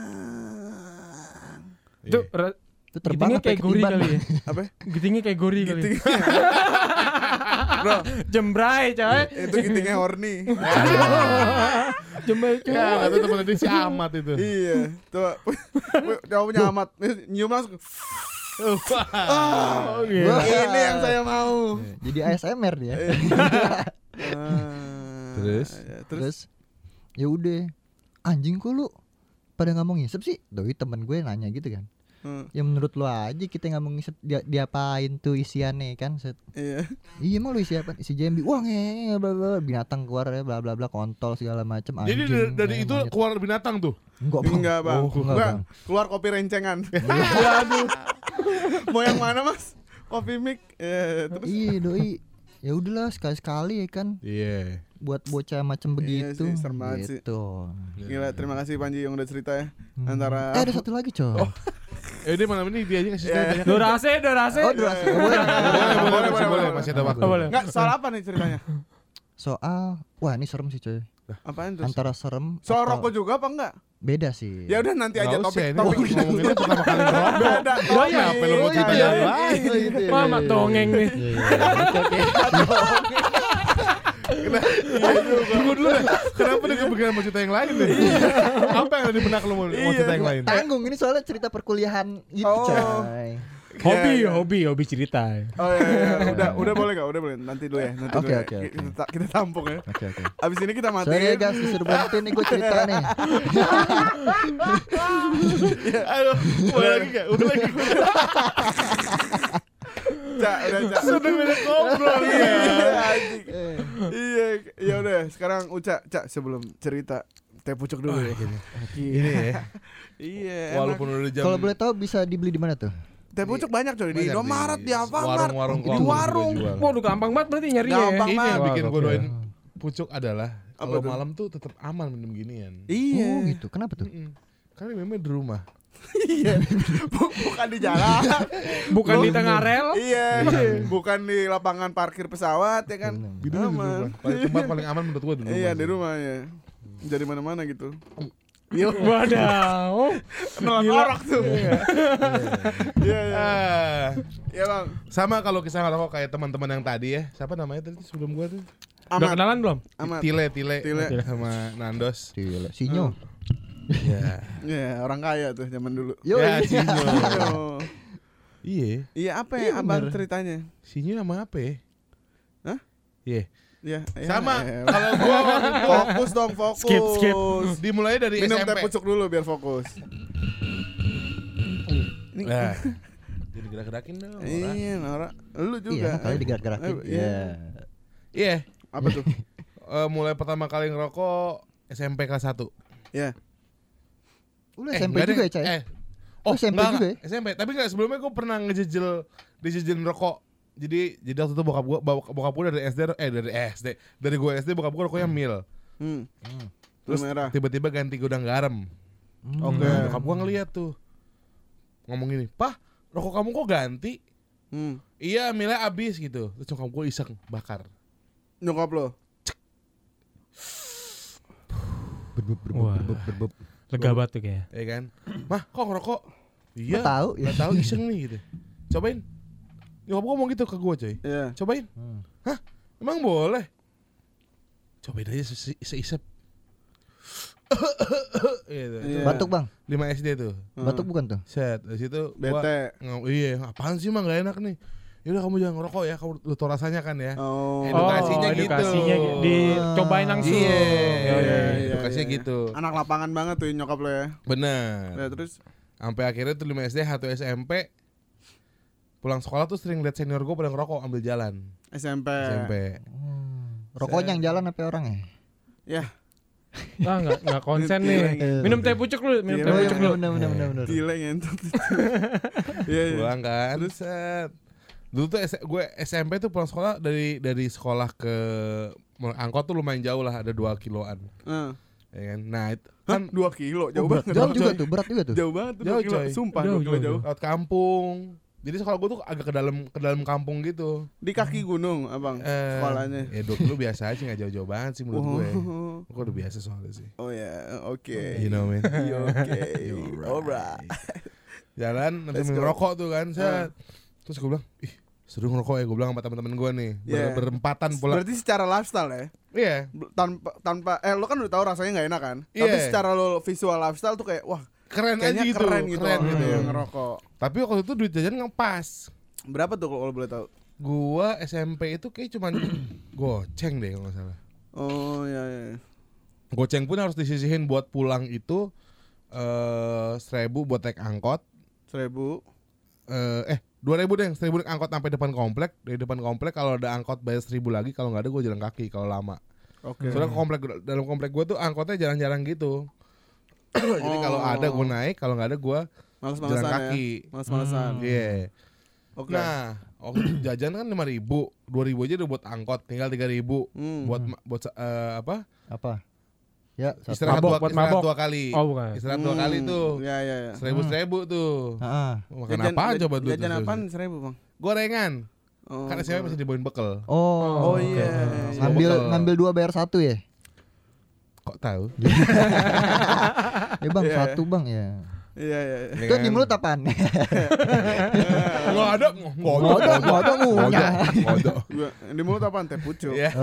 Itu Itu terbang gitingnya sampai kayak gori ketiban. kali ya. Apa? Gitingnya kayak gori kali. Giting. Bro, Jembrai coy. itu gitingnya horny. Jembrai coy. Ya, kata temen dia si Amat itu. Iya, tuh. Coba punya amat nyium langsung. Wah. Ini yang saya mau. Jadi ASMR dia. Terus ya udah, anjing kok lu pada nggak mau ngisep sih? Doi temen gue nanya gitu kan. Ya menurut lu aja kita nggak mau ngisep, diapain tuh isiannya kan? Iya emang lu isi apa? Isi JMB. Wah nge bla bla, binatang keluar ya bla bla bla, kontol segala macam. Jadi dari itu keluar binatang tuh? Enggak bang. Enggak. Keluar kopi rencengan. Waduh. Mau yang mana mas? Kopi mik. Terus. Iya doi. Ya udahlah sekali-sekali ya kan. Iya. Buat bocah macam begitu. Iya sih, serem banget gitu. Gila, terima kasih Panji yang udah cerita ya. Antara ada satu lagi coy. Ini malam ini dia aja ngasih ceritanya. Durasi. Boleh, masih ada waktu. Enggak, soal apa nih ceritanya? Soal, wah ini serem sih coy. Apaan tuh? Antara serem. Soal atau- rokok juga apa enggak? Beda sih. Ya udah nanti aja Nggak usah, ini topik ngomonginnya pertama kali ngerokok. beda. Oh iya, apa lu mau cerita yang lain? Mama dongeng nih. Tunggu dulu deh. Kenapa dia kepikiran mau cerita yang lain deh? Apa yang ada di benak lu mau cerita yang lain? Tanggung, ini soalnya cerita perkuliahan gitu coy. Hobi cerita. Oh iya. Udah boleh enggak? Udah boleh. Nanti dulu ya. Nanti Oke, dulu ya. oke. Kita tampung ya. Oke. Abis ini kita Sorry ya matiin. guys, disuruh bantuin nih gue cerita nih. Ayo, udah lagi gak? Udah lagi. Cak, udah Cak. Sudah beda ngobrol ya. Anjing. Iya, ya udah. Sekarang Uca, Cak, sebelum cerita teh pucuk dulu ya. Ini ya. Iya. Walaupun udah jam. Kalau boleh tahu bisa dibeli di mana tuh? Teh pucuk banyak coy di Indomaret, di Alfamart, warung-warung di kok warung. juga jual. Waduh gampang banget berarti nyarinya ya. Gampang. Ini yang Wah, bikin gue gokil. doain pucuk adalah Apa kalau tuh? malam tuh tetap aman minum ginian. Iya. Oh gitu. Kenapa tuh? Karena memang di rumah. Iya. Bukan di jalan. Bukan di tengah rel. Iya. Bukan di lapangan parkir pesawat ya kan. Di rumah. Tempat paling aman menurut gue di rumah. Iya, sih. di rumah ya. Jadi mana-mana gitu. Wadaw. Kenalan orok tuh. Iya. Ah, Iya, Bang. sama kalau kisah ngerokok kayak teman-teman yang tadi ya. Siapa namanya tadi sebelum gua tuh? Udah Amat. kenalan belum? Amat. Tile sama Nandos. Sinyo. Iya. Iya, orang kaya tuh zaman dulu. Yo. Ya, Sinyo. Aduh. Iya. Iya, apa Iya, ya abang bener. ceritanya? Sinyo sama apa ya? Hah? Iya. Iya, Sama. ya. Kalau gua Fokus dong, fokus. Skip. dimulai dari Minum teh SMP. pucuk dulu biar fokus. Ini Nah. Jadi gerak-gerakin dong. orang. iya, Nora. Lu juga. Iya, kali digerak-gerakin. Iya. Iya. Apa tuh? Mulai pertama kali ngerokok SMP kelas 1. Iya. Lu SMP juga ya, Cai? Oh, SMP enggak, juga ya? SMP. Tapi enggak, sebelumnya gue pernah dijejelin rokok. Jadi waktu itu bokap gue dari gue SD bokap gue rokoknya mil. Terus merah. tiba-tiba ganti gudang garam. Oke. Nah, bokap gue ngeliat tuh. Ngomong gini, "Pah, rokok kamu kok ganti?" Iya, milnya abis gitu. Terus nyokap gue iseng bakar. Nyokap lo. Berbeb. Lega banget tuh kayaknya. Ya kan? "Mah, kok ngerokok?" "Iya, Nggak tahu, ya. nggak tahu iseng nih gitu." "Cobain." Nyokap gue ngomong gitu ke gue, coy. Iya. "Cobain." "Hah? Emang boleh?" "Cobain aja seisep." Gitu. Iya. Batuk, Bang. 5 SD tuh. Batuk bukan tuh? Set, dari situ Bete. iya, apaan sih mah gak enak nih. Yaudah kamu jangan ngerokok ya, kamu lu tau rasanya kan ya. Oh. Edukasinya gitu. Edukasinya dicobain langsung. Iya, edukasinya gitu. Anak lapangan banget tuh nyokap lo ya. Bener. Ya, terus Sampai akhirnya tuh 5 SD, 1 SMP. Pulang sekolah tuh sering liat senior gue pada ngerokok ambil jalan. SMP. Rokoknya yang jalan apa orangnya? Ya. Ah enggak konsen nih. Minum teh pucuk lu, minum Iya, teh iya, pucuk lu. Bener. Gila ngentot. Iya, iya. Pulang kan. Set. Dulu tuh gue SMP tuh pulang sekolah dari sekolah ke angkot tuh lumayan jauh lah, ada 2 kiloan. Ya kan? Nah, itu Hah? kan 2 kilo, jauh Berat banget. juga coy. tuh, berat juga tuh. Jauh banget tuh 2 Jauh, kilo. coy. Sumpah Jauh, 2 kilo jauh. jauh. lewat kampung. Jadi sekolah gue tuh agak ke dalam kampung gitu. Di kaki gunung, Abang. Sekolahnya. Ya 2 kilo biasa aja, gak jauh-jauh banget sih menurut gue. Oh. Gue udah biasa soalnya sih. Oh ya, oke. You know man. Iya, oke. Alright. Jalan Let's sambil go. ngerokok tuh kan. Set. Terus gue bilang, ih seru ngerokok ya, gue bilang sama teman-teman gue nih. Yeah. Berempatan pula. Berarti secara lifestyle ya. Iya. Tanpa lo kan udah tahu rasanya nggak enak kan. Iya. Tapi secara lo visual lifestyle tuh kayak wah keren Kayaknya aja gitu. keren gitu orang gitu. yang ngerokok. Tapi waktu itu duit jajan ngepas. Berapa tuh kalau boleh tahu? Gua SMP itu kayak cuman goceng deh kalau nggak salah. Oh iya. Goceng pun harus disisihin buat pulang itu 1.000 buat naik angkot. 1.000. 2.000 deh, 1.000 naik angkot sampai depan komplek. Dari depan komplek kalau ada angkot bayar 1.000 lagi, kalau nggak ada gue jalan kaki kalau lama. Oke. Soalnya dalam komplek gue tuh angkotnya jarang-jarang gitu. Jadi kalau ada gue naik, kalau nggak ada gue Males-malesan jalan kaki. ya. Males-malesan. Iya. Oke. Nah, waktu itu jajan kan 5.000, 2.000 aja udah buat angkot, tinggal 3.000 buat Apa? Ya, istirahat Mabok, buat mabok. 2 kali. Oh, bukan. Istirahat 2 kali tuh. Iya. 1.000 tuh. Heeh. Makan apa coba dulu? Jajan apaan 1.000 Bang? Gorengan. Oh, Karena saya masih dibawain bekal. Oh, Oh iya. ngambil 2 bayar 1 ya? Kok tahu? Ya Bang, Iya. 1 Bang ya. Iya. Itu di mulut apaan? Enggak ada, Nggak ada ngunyah. Gua di mulut apaan? Teh pucuk. Ya.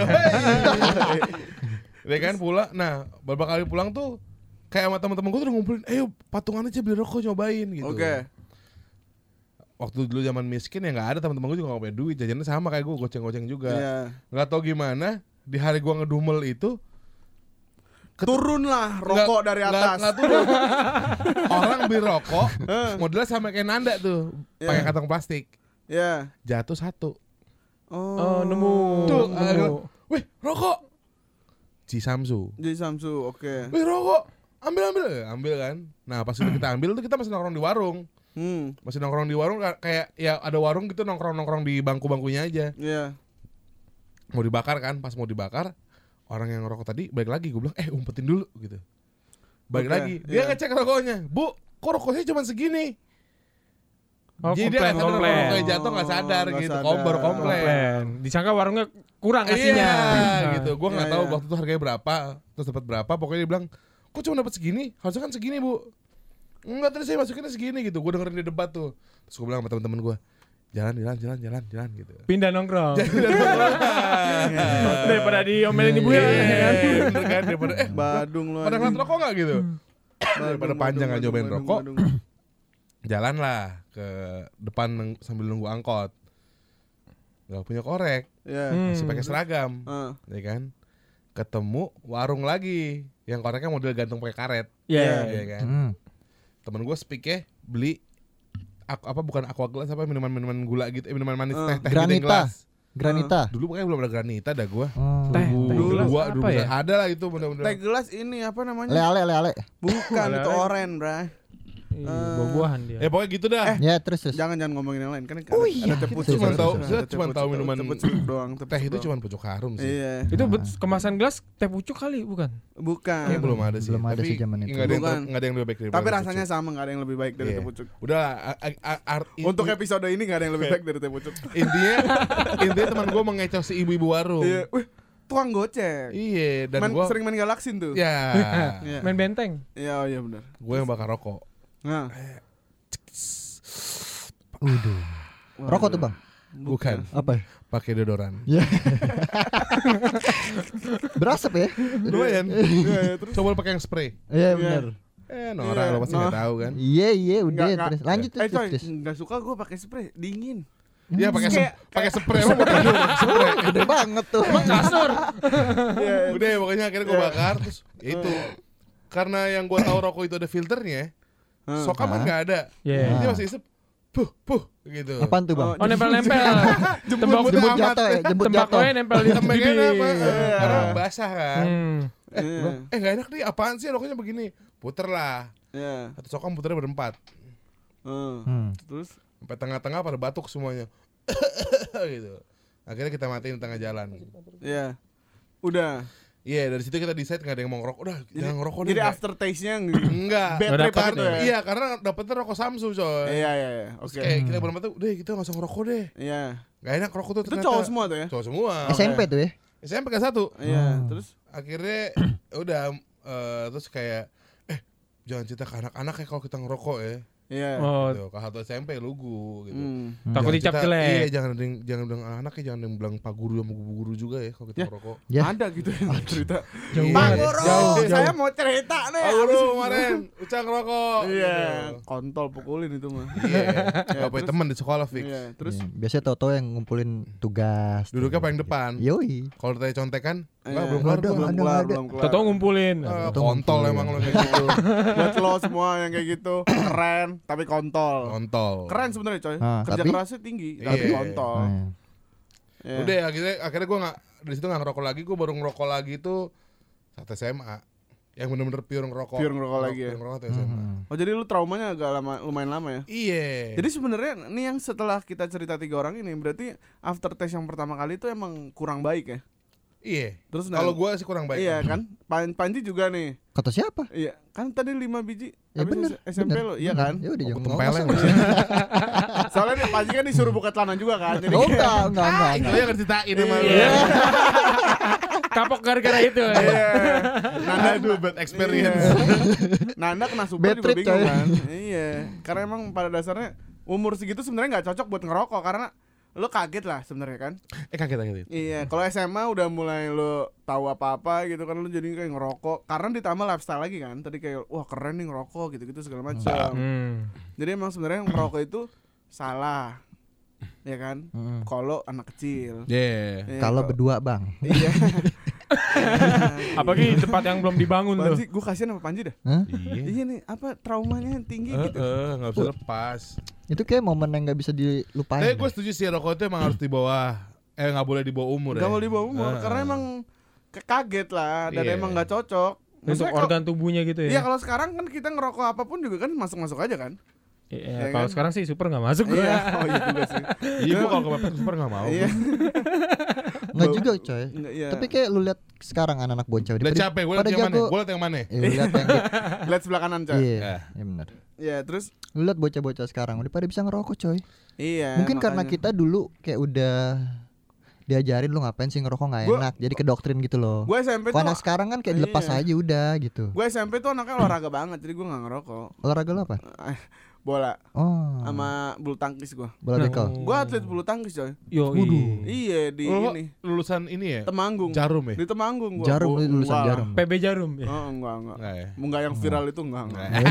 Dia kan pulang. Nah, beberapa kali pulang tuh kayak sama teman-teman gue tuh udah ngumpulin, "Ayo patungan aja beli rokok nyobain" gitu. Oke. Waktu dulu zaman miskin ya nggak ada, teman-teman gue juga nggak punya duit, jajannya sama kayak gue, goceng-goceng juga. Iya. Nggak tahu gimana di hari gue ngedumel itu Turun lah rokok dari atas. Nggak turun. Orang beli rokok modelnya sama kayak Nanda tuh, pakai kantong plastik. Iya. Jatuh 1. Oh, nemu. Tuh, Nemu. wih rokok. Samsu. Jadi Samsu, oke. Wih rokok. Ambil kan. Nah pas itu kita ambil tuh kita masih nongkrong di warung. Masih nongkrong di warung kayak ya ada warung gitu, nongkrong di bangku-bangkunya aja. Iya. Mau dibakar kan, pas mau dibakar orang yang ngerokok tadi balik lagi, gue bilang umpetin dulu gitu. Balik Oke, lagi, dia iya. ngecek rokoknya, "Bu, kok rokoknya cuma segini?" Oh, Jadi dia nggak sadar komplain. rokoknya jatuh, nggak sadar nggak gitu, sadar. baru komplain. Komplain. Disangka warungnya kurang ngasihnya. Iya Nah. gitu, gue nggak Iya, tahu iya. waktu itu harganya berapa, terus dapat berapa, pokoknya dia bilang, "Kok cuma dapat segini? Harusnya kan segini, Bu." "Enggak, tadi saya masukinnya segini," gitu. Gue dengerin dia debat tuh. Terus gue bilang sama teman-teman gue, jalan gitu. Pindah nongkrong. Daripada diomelin ibu ya. Bener kan, daripada Badung lu. pada ngeliat rokok nggak gitu. Badung, Daripada panjang nggak badung, nyobain badung, rokok, badung. jalan lah ke depan sambil nunggu angkot. Gak punya korek, Iya. masih pakai seragam, ya kan? Ketemu warung lagi yang koreknya model gantung pakai karet, Iya. ya kan? Temen gue speaknya beli bukan aqua gelas, apa minuman gula gitu, minuman manis teh gitu yang Granita. gelas. Granita. Dulu pokoknya belum ada granita dah gue. Oh. Teh gelas Dulu apa ya? ada lah itu bener-bener. Teh gelas ini apa namanya? Ale. Bukan, Ale-ale. itu oren, Bray. Buah-buahan dia. Pokoknya gitu dah. Ya terus. Jangan ngomongin yang lain kan Oh ada iya, teh kita pucuk. cuma tahu- Ada saya teh cuma pucuk, tahu minuman teh pucuk doang, Teh pucuk itu doang. cuma pucuk harum sih. Iya. Itu kemasan gelas teh pucuk kali bukan? Bukan. Kayaknya belum ada sih. Belum ada Tapi sih zaman itu. nggak ada yang Bukan. nggak ada yang lebih baik dari Tapi teh rasanya pucuk. sama, enggak ada yang lebih baik dari Iya. teh pucuk. Udah Untuk episode ini enggak ada yang lebih baik dari teh pucuk. intinya teman gue mengecoh si ibu-ibu warung. Iya, wih, tukang goceng. Iya, dan gue Sering main galaksin tuh. ya Iya. Main benteng. Iya, oh iya benar. gue yang bakar rokok. Nah, Rokok tuh Bang. Bukan, Apa? pakai deodoran. Ya. Berasap ya? Lumayan. iya, terus Coba lu pakai yang spray. Iya benar. Norak Iya, lo pasti nggak tahu kan. Iya udah Nggak- terus. Lanjut sorry, terus. enggak suka gue pakai spray, dingin. Iya pakai Kayak- pakai spray. Lo mau tidur pakai spray. Gede banget tuh. Kasur. Iya. Udah pokoknya akhirnya gue bakar terus ya itu. Karena yang gue tahu rokok itu ada filternya. Sokam kan nggak ada. Iya. Dia masih isep. Puh gitu. Apaan tuh Bang? Oh nempel-nempel. Jemput Jemput amat. jatuh ya, jemput jatuh. Tembakaunya nempel di Tembaknya bibir. apa? Karena basah kan. Iya. Gak enak nih, apaan sih rokoknya begini? Puter lah. Iya. Satu sokam puternya berempat. Terus Sampai tengah-tengah pada batuk semuanya. Gitu. Akhirnya kita matiin di tengah jalan. iya. Udah. Iya, dari situ kita decide gak ada yang mau ngerokok. Udah, jangan ngerokok deh. Jadi nggak. aftertaste-nya Enggak. bad Udah trip dapet gitu ya? ya. Iya, karena dapetnya rokok Samsu coy. Iya. Terus Oke. kayak kita berempat tuh, udah kita gak usah ngerokok deh. Iya. Gak enak rokok tuh Itu ternyata. cowok semua tuh ya? Cowok semua. SMP tuh ya? SMP kelas 1. Iya, terus Akhirnya udah terus kayak jangan cerita ke anak-anak ya kalau kita ngerokok ya. Iya. Oh, Gitu. Kelas 1 SMP lugu gitu. takut dicap jelek. Iya, jangan bilang anaknya, jangan bilang Pak Guru sama Bu Guru juga ya kalau kita ngerokok. Ya. Ada gitu yang cerita. Jauh Pak banget. Guru, Jauh. saya mau cerita nih. Pak Guru kemarin Ucang ngerokok. Iya, Gitu. kontol pukulin itu mah. Iya. Ya, Gak punya terus- teman di sekolah fix. Iya, terus Iya, biasanya Toto yang ngumpulin tugas. Duduknya paling depan. Yoi. Kalau ditanya contekan, enggak iya, belum kelar ada, gua. belum ada, kelar, ada. belum kelar. Toto ngumpulin. Kontol emang lo kayak gitu. Buat lo semua yang kayak gitu keren tapi kontol. Kontol. Keren sebenarnya coy. Ah, Kerja tapi- kerasnya tinggi tapi Iya. kontol. Nah, Iya. Udah akhirnya gue nggak di situ nggak ngerokok lagi. Gue baru ngerokok lagi tuh saat SMA. Yang bener-bener pure ngerokok. Pure ngerokok lagi ya? Pure ngerokok tuh SMA. Oh jadi lu traumanya agak lama, lumayan lama ya? Iya. Jadi sebenarnya nih yang setelah kita cerita 3 orang ini berarti after test yang pertama kali itu emang kurang baik ya? Iya. Terus Kalau gue sih kurang baik. iya kan? Panji juga nih. kata siapa? Iya, kan tadi 5 biji. Ya Habis bener. SMP bener, lo, iya bener. kan? Ya udah jangan Tempeleng. ngomong. Soalnya nih Panji kan disuruh buka celana juga kan. Jadi Oh enggak. Itu yang ceritain sama lu. Iya. Kapok gara-gara itu. Iya. Nanda Aduh, bad experience. Iya. Nanda kena super Bad juga trip, bingung coy. kan. Iya. Karena emang pada dasarnya umur segitu sebenarnya nggak cocok buat ngerokok karena lo kaget lah sebenarnya kan. Kaget. Iya, kalau SMA udah mulai lo tahu apa-apa gitu kan lo jadi kayak ngerokok karena ditambah lifestyle lagi kan. Tadi kayak wah keren nih ngerokok gitu-gitu segala macam. Jadi emang sebenarnya ngerokok itu salah. Ya kan? Kalau anak kecil. Iya. Iya, Kalau kok- berdua, Bang. Iya. Apalagi di tempat yang belum dibangun tuh. Panji, gue kasihan sama Panji dah. Hah? Iya nih, apa traumanya yang tinggi gitu. Nggak bisa lepas. Itu kayak momen yang nggak bisa dilupain. Tapi gue setuju sih rokok itu emang harus di bawah. Nggak boleh di bawah umur ya. Gak mau dibawa umur karena emang kaget lah dan Iya. emang nggak cocok. Untuk Maksudnya kalau- organ tubuhnya gitu Iya ya. kalau sekarang kan kita ngerokok apapun juga kan masuk-masuk aja kan. Iya, Iya kalau kan? sekarang sih super nggak masuk Iya, gua. oh iya juga sih. Iya, gue kalau kepepet super nggak mau. Iya. Nggak juga, coy. Nggak, iya. Tapi kayak lu lihat sekarang anak-anak bocah Lihat capek, gue liat yang mana? Gue liat yang mana? Lu lihat yang Lihat sebelah kanan coy. Iya, Ya. iya benar. Iya, terus Lu lihat bocah-bocah sekarang udah pada bisa ngerokok, coy. iya. Mungkin karena makanya. kita dulu kayak udah diajarin lu ngapain sih ngerokok nggak Gua- enak, jadi kedoktrin gitu loh. Gue SMP Kalau tuh anak sekarang kan kayak dilepas Iya. aja udah gitu. gue SMP tuh anaknya olahraga banget jadi gue nggak ngerokok. Olahraga lu apa? Bola Oh, sama bulu tangkis gue. bola bekel. Gue atlet bulu tangkis coy. Yo, Iya di Lu ini lulusan ini ya? Temanggung. Jarum ya? Di Temanggung gua. Jarum, lu lulusan Enggak lah. jarum. PB Jarum ya. Oh, enggak. Enggak ya? Enggak yang viral itu enggak.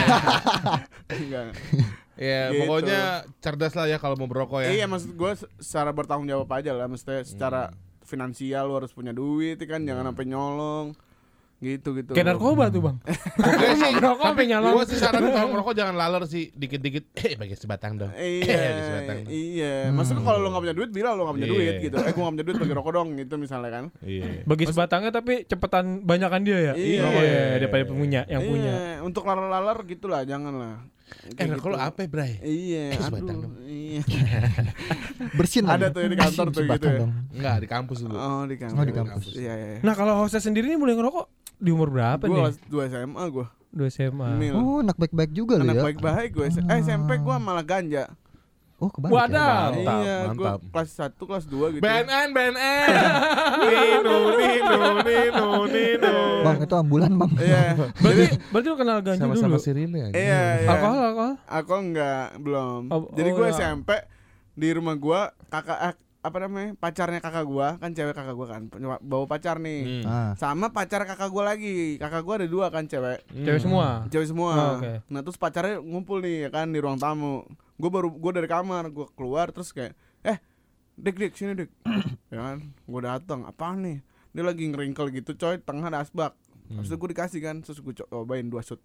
Enggak. Ya Gitu. pokoknya cerdas lah ya kalau mau berokok ya. Iya maksud gue secara bertanggung jawab aja lah. Maksudnya secara finansial lu harus punya duit kan. Jangan sampai nyolong. Gitu. Kayak narkoba tuh, Bang. Pokoknya sih, Ngerokok sampai nyala. gue sih saran kalau ngerokok jangan laler sih, dikit-dikit. Bagi sebatang dong. Bagi sebatang dong. Iya. Maksudnya kalau lu gak punya duit bilang lu gak punya Iya. duit gitu. Gue gak punya duit bagi rokok dong gitu misalnya kan. Iya. Bagi sebatangnya tapi cepetan banyakan dia ya. Iya. Oh, iya, daripada punya yang punya. Iya. Untuk laler-laler gitu lah jangan lah. Kayak Rokok lu apa, Bray? Iya. Sebatang Aduh. dong. Iya. Bersin Ada lagi. tuh di kantor tuh gitu Sebatang ya. dong. Enggak, di kampus dulu. Oh di kampus. Oh, di kampus. Iya. Nah, kalau hostess sendiri nih mulai ngerokok di umur berapa Gue nih? kelas 2 SMA gue. 2 SMA. Mil. Oh, anak baik-baik juga lu Anak ya. baik-baik gue. SMP gue malah ganja. Oh, kebalik. Wadah. Ya. Mantap, Iya, gue mantap. kelas 1, kelas 2 gitu. BNN. Nino. Bang, itu ambulan, Bang. Iya. Berarti lu kenal ganja Sama-sama dulu. Sirine. Iya. Alkohol. Aku enggak, belum. Oh, Jadi gue ya. SMP di rumah gue pacarnya kakak gue kan cewek kakak gue kan bawa pacar nih. Ah. Sama pacar kakak gue lagi. Kakak gue ada 2 kan cewek. Cewek semua. Cewek semua. Oh, oke. Nah, terus pacarnya ngumpul nih ya kan di ruang tamu. Gue dari kamar, gue keluar terus kayak Dik sini Dik. Ya kan, gue datang, apaan nih? Dia lagi ngeringkel gitu coy, tengah ada asbak. Habis itu gue dikasih kan, terus gue cobain 2 shot.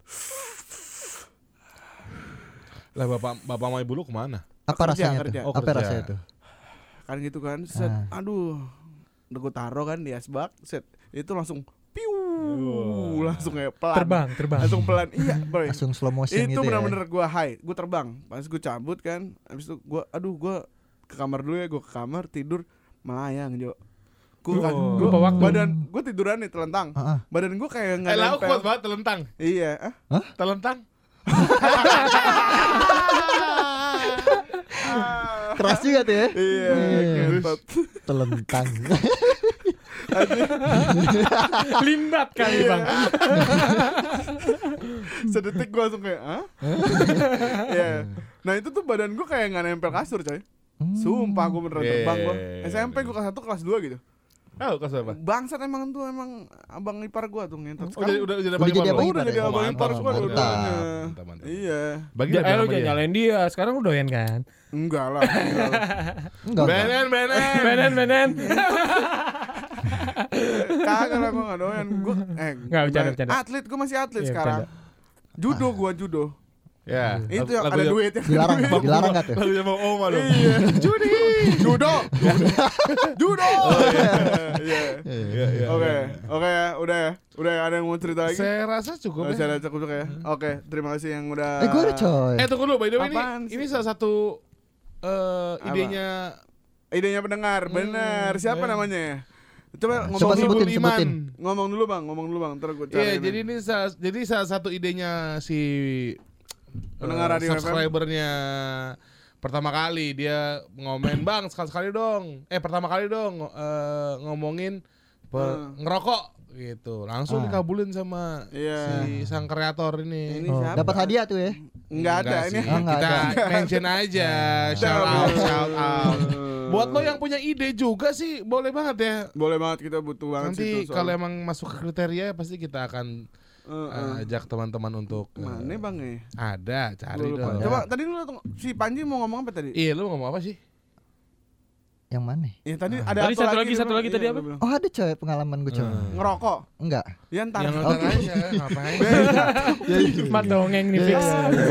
Lah bapak sama ibu lu kemana? Apa Kerja, rasanya kerja. tuh? Oh, Apa kerja. rasanya tuh? Kan gitu kan, set, aduh. Udah gue taruh kan di asbak, set. Itu langsung piu, langsung kayak pelan. Terbang. Langsung pelan. Iya, boy. Langsung slow motion Itu gitu ya. benar-bener gue high, gue terbang. Pas gue cabut kan, habis itu gue ke kamar dulu ya, gue ke kamar tidur melayang Jo. lupa waktu. Badan gue tiduran nih telentang. Badan gue kayak nggak Lauk nempel. kuat banget telentang. Iya. Telentang. Keras juga tuh ya. Iya. Gentot. Telentang. Limbat kali, Bang. Sedetik gue langsung kayak, hah? Iya. Nah itu tuh badan gue kayak nggak nempel kasur coy. Sumpah gue beneran terbang gue. SMP gue kelas 1 kelas 2 gitu. Oh, kelas berapa? Bangsat emang tuh emang abang ipar gue tuh ngentot. Oh, udah jadi abang ipar abang lo? ipar Udah jadi ya? abang ipar gue mantap. dua-duanya. Mantap. Iya. Bagi Lu sama jangan dia. nyalain dia. Sekarang udah doyan kan? Enggak lah. Enggak. Benen. Kagak lah gue nggak doyan. Gue Nggak, bercanda. atlet, gue masih atlet Iya, sekarang. Judo gue judo. Ya. Itu yang ada duit yang Dilarang enggak tuh? Lagunya Bang Oma dong. Iya. Judo. Judo. Iya. Oke ya, udah ya. Udah ya, ada yang mau cerita lagi? Saya rasa cukup ya. Saya cukup ya. Oke, terima kasih yang udah. Gue ada coy. Tunggu dulu, by the way Apaan ini sih? salah satu idenya Idenya pendengar, benar. Siapa namanya ya? Coba Coba ngomong dulu. sebutin. Ngomong dulu bang. Ntar gue Iya, cari. jadi ini salah satu idenya si Pendengar Radio FM. subscribernya pertama kali dia ngomen, "Bang, sekali-sekali dong. Pertama kali dong ngomongin ngerokok." gitu. Langsung dikabulin sama si sang kreator ini. Ini siapa? Dapat hadiah tuh ya. Enggak ada Enggak ini. sih. enggak Kita ada. mention aja. Shout out. Buat lo yang punya ide juga sih boleh banget ya. Boleh banget, kita butuh banget Nanti sih. kalau emang masuk ke kriteria pasti kita akan ajak teman-teman untuk mana bang ya? ada cari Gua lupa. dong. Coba tadi si Panji mau ngomong apa tadi? Iya, lu ngomong apa sih? Yang mana? Ya tadi ada Tadi satu lagi tadi apa? Oh ada coy pengalaman gue coy. Ngerokok. Enggak. Ya ntar. Yang nonton aja ngapain? Mat dongeng nih fix.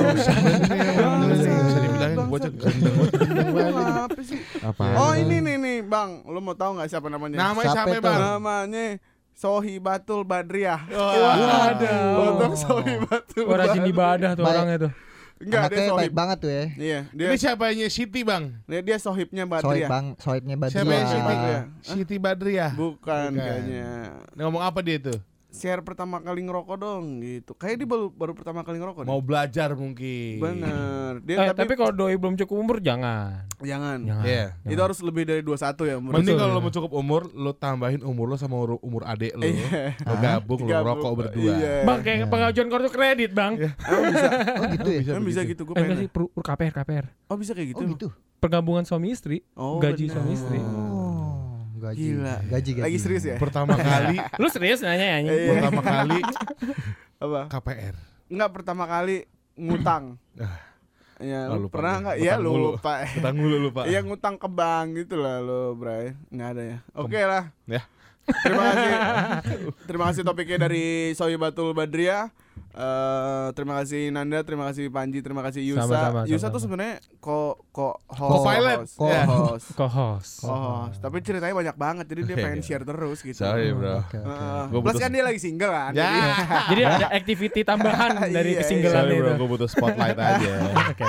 Bisa dibilangin bocah gendeng. Apa sih? Apa? Oh ini nih bang, lo mau tahu nggak siapa namanya? Namanya Siapa siapa, itu? Bang? Namanya Sohibatul Badriah. Waduh. Untuk Sohibatul. Oh, rajin ibadah tuh Baik. orangnya tuh. Enggak, dia Anaknya sohib. baik banget tuh ya. Iya, dia Ini siapanya Siti, Bang? dia sohibnya Sohib Badriah. bang, sohibnya Siapa yang Siti? Badriah. Siti Badriah. Bukan kayaknya. Ngomong apa dia tuh? Share pertama kali ngerokok dong gitu. Kayak dia baru pertama kali ngerokok. Mau belajar mungkin. Bener. Dia Tapi kalau doi belum cukup umur jangan. jangan. Iya. Itu harus lebih dari 21 ya umur. Mending Betul, kalau ya. lo mau cukup umur, lo tambahin umur lo sama umur adek lo. Iya. Lo gabung, lo Gabung. rokok berdua. Iya. Bang kayak pengajuan kartu kredit, Bang. Emang bisa. Oh gitu ya. Emang bisa gitu gue Enggak sih, pengen. KPR. Oh bisa kayak gitu. Oh gitu. Pergabungan suami istri, Oh, gaji bener. suami istri. Oh gaji. Gila. Gaji. Lagi serius ya? Pertama kali, Lu serius nanya ya? Iya. pertama kali Apa? KPR. Enggak, pertama kali ngutang. Ya, Oh, lu lupa pernah gue. enggak? Iya, Ngutang mulu. lupa. Utang mulu lupa. Iya, ngutang ke bank gitu lah lo, Bray. Enggak ada ya. Oke lah. Ya. Terima kasih. Terima kasih topiknya dari Sohibatul Badriah. Terima kasih Nanda, terima kasih Panji, terima kasih Yusa. Sama-sama, Yusa tuh sama-sama. sebenarnya co-host. Co-pilot. Co-host. Co-host. Co-host. Tapi ceritanya banyak banget, jadi dia pengen share terus gitu. Sorry, bro. Oke, oke. Gua Plus butuh- kan dia lagi single kan. Ya. Jadi ada activity tambahan dari Iya, kesinggelan Sorry, itu. bro, gue butuh spotlight aja. Oke.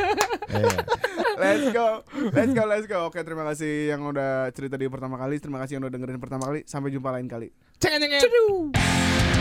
Let's go. Oke, terima kasih yang udah cerita di pertama kali. Terima kasih yang udah dengerin pertama kali. Sampai jumpa lain kali. Ceng.